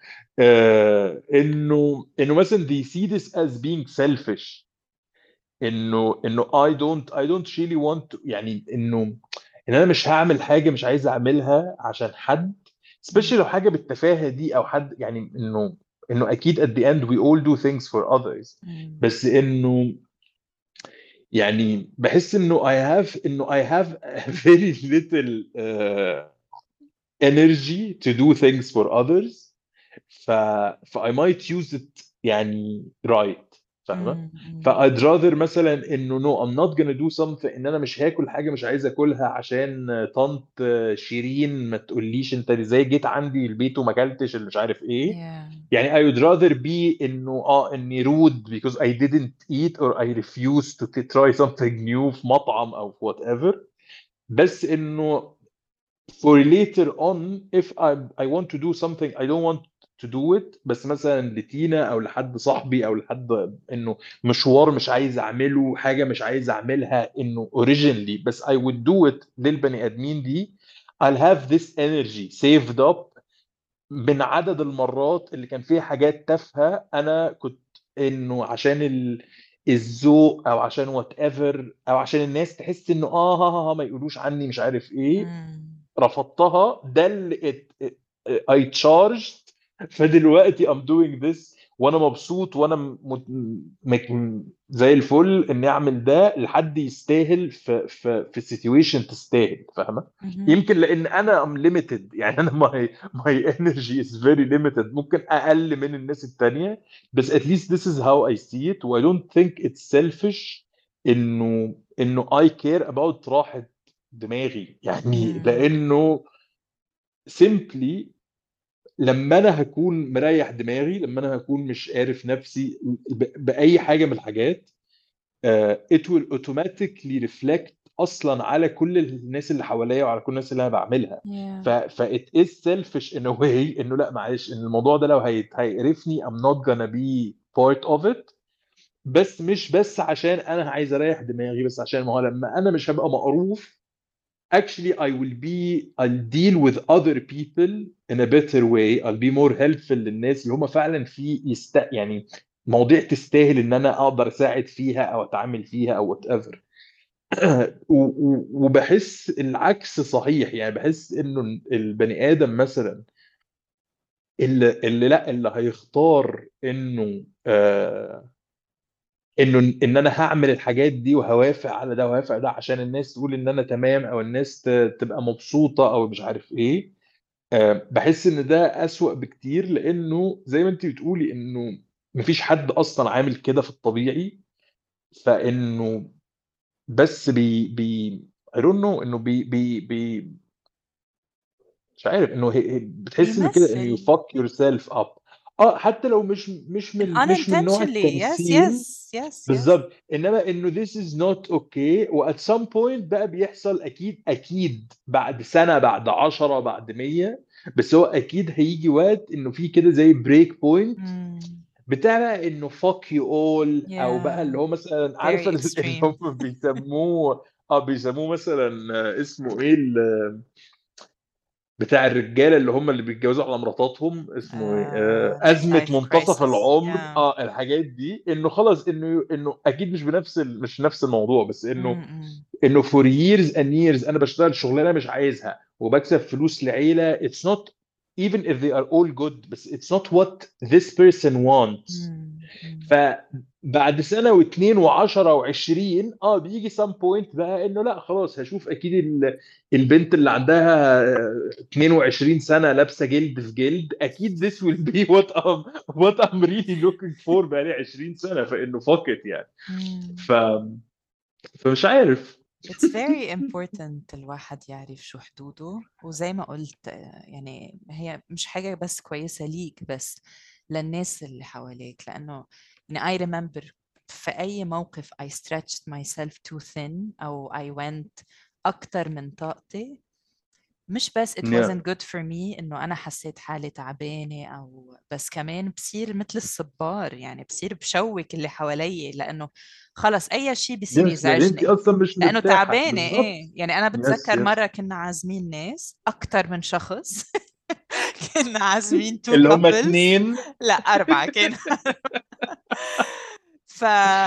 Speaker 1: انه مثلا they see this as being selfish انه I don't really want to يعني انه ان انا مش هعمل حاجه مش عايز اعملها عشان حد especially
Speaker 2: مم.
Speaker 1: لو حاجه بالتفاهه دي او حد يعني انه اكيد at the end we all do things for others
Speaker 2: مم.
Speaker 1: بس انه يعني بحس انه I have a very little energy to do things for others ف I might use it يعني right فاهمة؟ ف
Speaker 2: مم.
Speaker 1: I'd rather مثلا انه no I'm not gonna do something ان انا مش هاكل حاجة مش عايز اكلها عشان طنط شيرين ما تقوليش انت ازاي جيت عندي البيت وما اكلتش اللي مش عارف ايه
Speaker 2: Yeah.
Speaker 1: يعني I would rather be انه اني rude because I didn't eat or I refused to try something new في مطعم او في whatever بس انه for later on if I want to do something I don't want to do it بس مثلا لتينا او لحد صاحبي او لحد انه مشوار مش عايز اعمله حاجه مش عايز اعملها انه originally بس I would do it للبني ادمين دي I'll have this energy saved up من عدد المرات اللي كان فيها حاجات تافهه انا كنت انه عشان الذوق او عشان وات ايفر او عشان الناس تحس انه ما يقولوش عني مش عارف ايه
Speaker 2: مم.
Speaker 1: رفضتها ده اللي I charged فدلوقتي I'm doing this وانا مبسوط وانا زي الفل اني اعمل ده لحد يستاهل في situation تستاهل فاهمه
Speaker 2: مهم.
Speaker 1: يمكن لان انا I'm limited يعني انا my energy is very limited ممكن اقل من الناس التانية بس at least this is how I see it و I don't think it's selfish انه I care about راحة دماغي يعني
Speaker 2: مم.
Speaker 1: لانه simply لما انا هكون مريح دماغي لما انا هكون مش عارف نفسي باي حاجه من الحاجات it will automatically reflect اصلا على كل الناس اللي حواليا وعلى كل الناس اللي انا بعملها
Speaker 2: Yeah.
Speaker 1: ف it is selfish in a way انه لا معلش ان الموضوع ده لو هيقرفني I'm not gonna be part of it بس مش بس عشان انا عايز اريح دماغي بس عشان ما هو لما انا مش هبقى مقروف actually I'll deal with other people in a better way I'll be more helpful للناس اللي هم فعلا يعني مواضيع تستاهل ان انا اقدر اساعد فيها او اتعامل فيها او whatever وبحس العكس صحيح يعني بحس انه البني ادم مثلا اللي هيختار انه ان انا هعمل الحاجات دي وهوافق على ده وهوافق على ده عشان الناس تقول ان انا تمام او الناس تبقى مبسوطة او مش عارف ايه بحس ان ده اسوأ بكتير لانه زي ما انت بتقولي انه مفيش حد اصلا عامل كده في الطبيعي فانه بس بي I don't know انه بي مش عارف انه بتحس انه كده انه you
Speaker 2: بيمثل
Speaker 1: fuck yourself up حتى لو مش من نوع
Speaker 2: unintentionally. Yes,
Speaker 1: التمثيل
Speaker 2: yes, yes, yes.
Speaker 1: بالظبط انما انه this is not okay و at some point بقى بيحصل اكيد بعد سنة بعد 10 بعد 100 بس هو اكيد هيجي وقت انه في كده زي بريك بوينت
Speaker 2: Mm.
Speaker 1: بتاع بقى انه fuck you all او بقى اللي
Speaker 2: Yeah.
Speaker 1: هو مثلا عارفه
Speaker 2: Very
Speaker 1: اللي
Speaker 2: extreme.
Speaker 1: هم بيسموه مثلا اسمه ايه بتاع الرجاله اللي بيتجوزوا على مراتاتهم اسمه ايه ازمه
Speaker 2: Midlife
Speaker 1: منتصف
Speaker 2: crisis.
Speaker 1: العمر
Speaker 2: Yeah.
Speaker 1: الحاجات دي انه خلاص انه اكيد مش نفس الموضوع بس
Speaker 2: Mm-mm.
Speaker 1: انه for years and years انا بشتغل شغلانه مش عايزها وبكسب فلوس لعيله it's not even if they are all good بس it's not what this person wants
Speaker 2: Mm-mm.
Speaker 1: فبعد سنه واثنين وعشرة وعشرين بيجي some point بقى انه لا خلاص هشوف اكيد البنت اللي عندها 22 سنه لابسه جلد في جلد اكيد this will be what I'm really looking for بقى لي 20 سنه فانه fuck it يعني
Speaker 2: Mm.
Speaker 1: ف فمش عارف
Speaker 2: It's very important الواحد يعرف شو حدوده وزي ما قلت يعني هي مش حاجة بس كويسة ليك بس للناس اللي حواليك لأنه يعني I remember في أي موقف I stretched myself too thin أو I went أكتر من طاقتي. مش بس it
Speaker 1: Yeah.
Speaker 2: wasn't good for me إنه أنا حسيت حالي تعبانة أو بس، كمان بصير مثل الصبار، يعني بصير بشوك اللي حوالي، لأنه خلص أي شيء بيصير
Speaker 1: Yes, يعني انت
Speaker 2: يزعجني
Speaker 1: اصلا مش
Speaker 2: لأنه
Speaker 1: مرتاحة
Speaker 2: تعبانة.
Speaker 1: بالظبط.
Speaker 2: إيه يعني أنا
Speaker 1: Yes,
Speaker 2: بتذكر
Speaker 1: yes.
Speaker 2: مرة كنا عازمين ناس أكتر من شخص. كنا عازمين two
Speaker 1: اللي هم
Speaker 2: couples.
Speaker 1: 2.
Speaker 2: لا 4 كنا. ف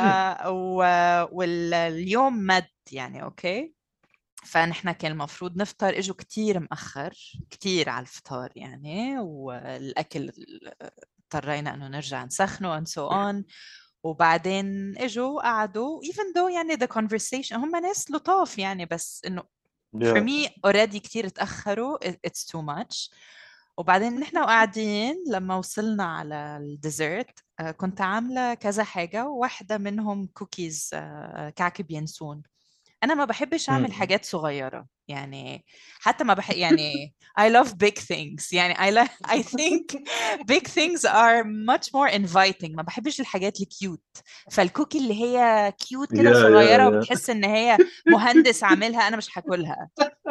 Speaker 2: واليوم مد يعني أوكي. فنحن كان المفروض نفطر، اجوا كتير مأخر كتير على الفطار يعني، والأكل اضطرينا انه نرجع نسخنه and so on. وبعدين اجوا قعدوا even though يعني the conversation هم ناس لطاف يعني، بس انه for
Speaker 1: Yeah.
Speaker 2: me already كتير اتأخروا it's too much. وبعدين نحن قاعدين لما وصلنا على الديزرت كنت عاملة كذا حاجة، واحدة منهم كوكيز كعك بينسون. أنا ما بحبش أعمل حاجات صغيرة يعني، حتى ما يعني I love big things يعني I think big things are much more inviting. ما بحبش الحاجات الكيوت، فالكوكي اللي هي كيوت كده
Speaker 1: Yeah,
Speaker 2: صغيرة
Speaker 1: yeah, yeah.
Speaker 2: وبتحس إن هي مهندس عاملها، أنا مش هاكلها.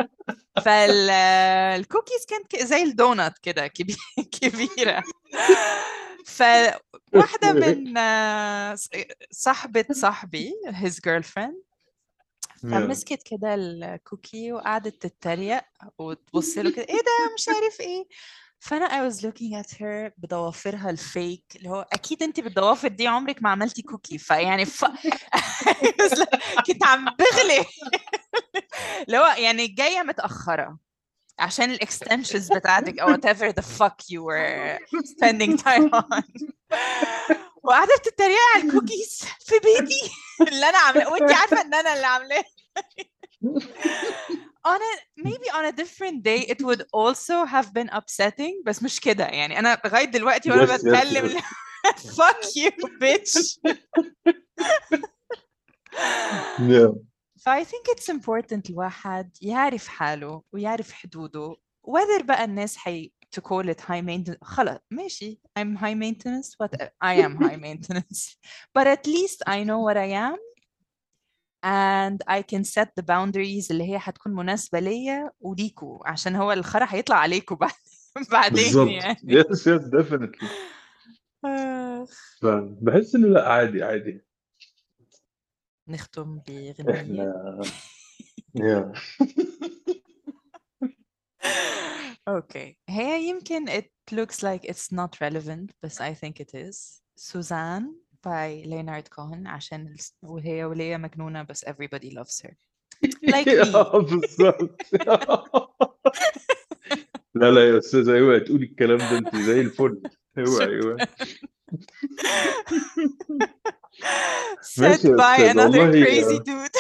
Speaker 2: فالكوكيز كانت زي الدونات كده كبيرة. فواحدة من صاحبة صاحبي his girlfriend
Speaker 1: Yeah.
Speaker 2: فمسكت كده الكوكي وقعدت تتريق وتبص له كده، ايه ده مش عارف ايه. فانا I was looking at her بضوافرها الفيك، اللي هو اكيد انت بالضوافر دي عمرك ما عملتي كوكي، فيعني كنت عم بغلي. اللي هو يعني جايه متاخره عشان الاكستنشنز بتاعتك او whatever the fuck you were spending time on. وقاعده بتتريق على الكوكيز في بيتي اللي انا عاملاه، وانت عارفه ان انا اللي عاملاه. maybe on a different day it would also have been upsetting، بس مش كده يعني. أنا لغاية دلوقتي وأنا
Speaker 1: Yes, yes,
Speaker 2: بتكلم
Speaker 1: yes.
Speaker 2: fuck you bitch.
Speaker 1: Yeah.
Speaker 2: I think it's important الواحد يعرف حاله ويعرف حدوده، whether بقى الناس to call it high maintenance خلاص ماشي I'm high maintenance but I am high maintenance but at least I know what I am and I can set the boundaries اللي هي هتكون مناسبة ليا وليكوا، عشان هو الخرا هيطلع عليكوا بعدين
Speaker 1: بالظبط.
Speaker 2: يعني.
Speaker 1: Yes, yes, definitely. بحس انه لا، عادي عادي.
Speaker 2: نختم بغنية.
Speaker 1: احنا yeah.
Speaker 2: Okay. هي يمكن it looks like it's not relevant but I think it is. Suzanne by Leonard Cohen، عشان وهي ولية مجنونة بس everybody loves her like me.
Speaker 1: بالظبط. لا لا يا استاذه، اوعي تقولي الكلام ده، انت زي الفل. اوعي اوعي.
Speaker 2: said
Speaker 1: ماشي يا
Speaker 2: by
Speaker 1: استاذ
Speaker 2: another
Speaker 1: والله.
Speaker 2: crazy dude.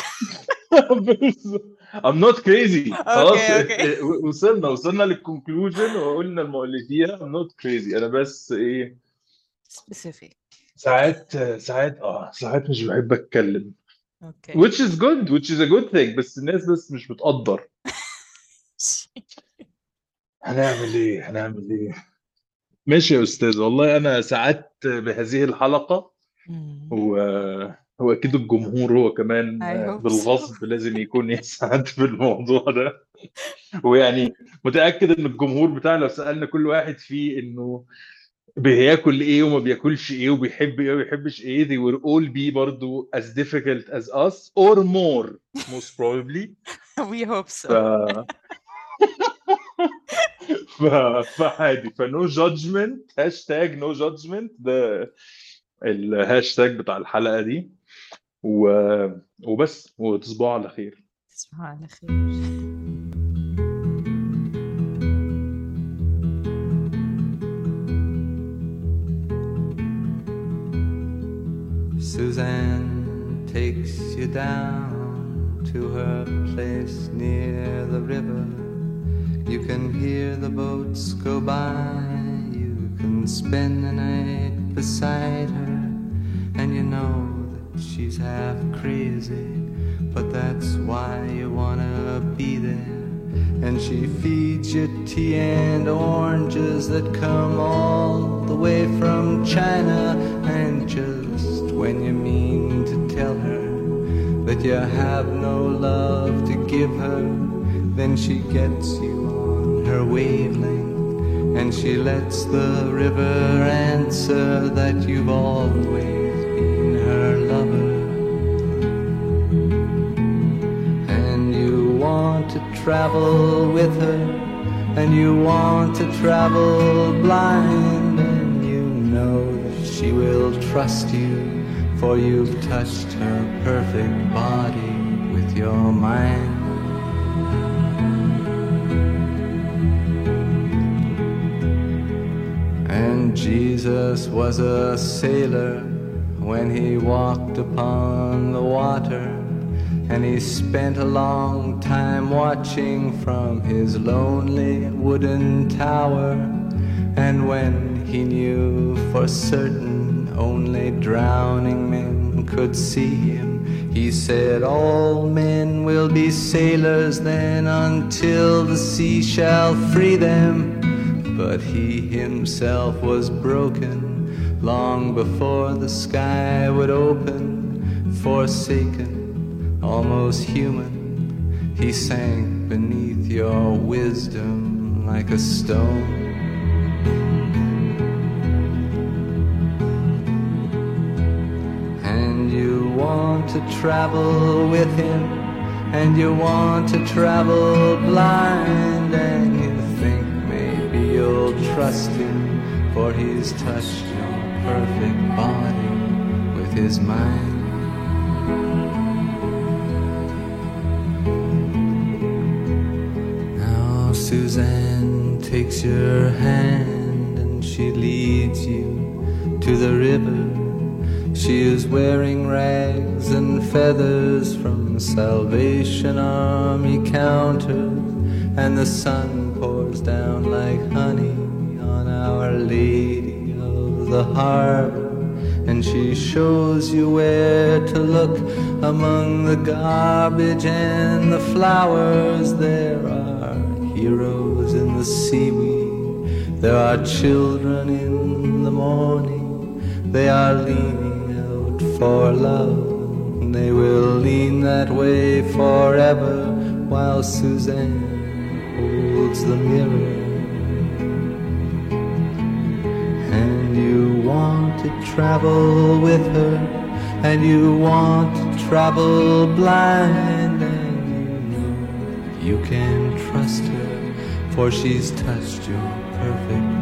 Speaker 1: I'm not crazy. خلاص
Speaker 2: okay.
Speaker 1: وصلنا للكونكلوجن وقلنا المؤلفيها I'm not crazy. انا بس ايه،
Speaker 2: specific.
Speaker 1: ساعات مش بحب اتكلم.
Speaker 2: okay.
Speaker 1: which is good, which is a good thing، بس الناس بس مش بتقدر. هنعمل ايه. ماشي يا استاذ والله، انا سعدت بهذه الحلقة. واكيد الجمهور هو كمان
Speaker 2: I hope so.
Speaker 1: بالغصب لازم يكون يسعد بالموضوع ده. ويعني متأكد ان الجمهور بتاعنا لو سألنا كل واحد فيه انه بياكل ايه وما بياكلش ايه وبيحب ايه وما بيحبش ايه، they will all be برضو as difficult as us or more most probably.
Speaker 2: we hope so.
Speaker 1: فعادي. فنو جادجمنت، هاشتاج نو جادجمنت ده الهاشتاج بتاع الحلقة دي. وبس، وتصبحوا على خير.
Speaker 2: تصبحوا على خير.
Speaker 4: Suzanne takes you down to her place near the river. You can hear the boats go by. You can spend the night beside her. And you know that she's half crazy, but that's why you wanna be there. And she feeds you tea and oranges that come all the way from China. And just when you mean to tell her that but you have no love to give her, then she gets you on her wavelength, and she lets the river answer that you've always been her lover. And you want to travel with her, and you want to travel blind, and you know that she will trust you, for you've touched her perfect body with your mind. And Jesus was a sailor when he walked upon the water, and he spent a long time watching from his lonely wooden tower. And when he knew for certain only drowning men could see him, he said, all men will be sailors then until the sea shall free them. But he himself was broken long before the sky would open. Forsaken, almost human, he sank beneath your wisdom like a stone. And you want to travel with him, and you want to travel blind, and you think maybe you'll trust him, for he's touched your perfect body with his mind. Now Suzanne takes your hand and she leads you to the river. She is wearing rags and feathers from Salvation Army counters, and the sun pours down like honey on Our Lady of the Harbor. And she shows you where to look among the garbage and the flowers. There are heroes in the seaweed, there are children in the morning. They are leaning out for love, they will lean that way forever, while Suzanne holds the mirror. And you want to travel with her, and you want to travel blind, and you know you can trust her, for she's touched your perfect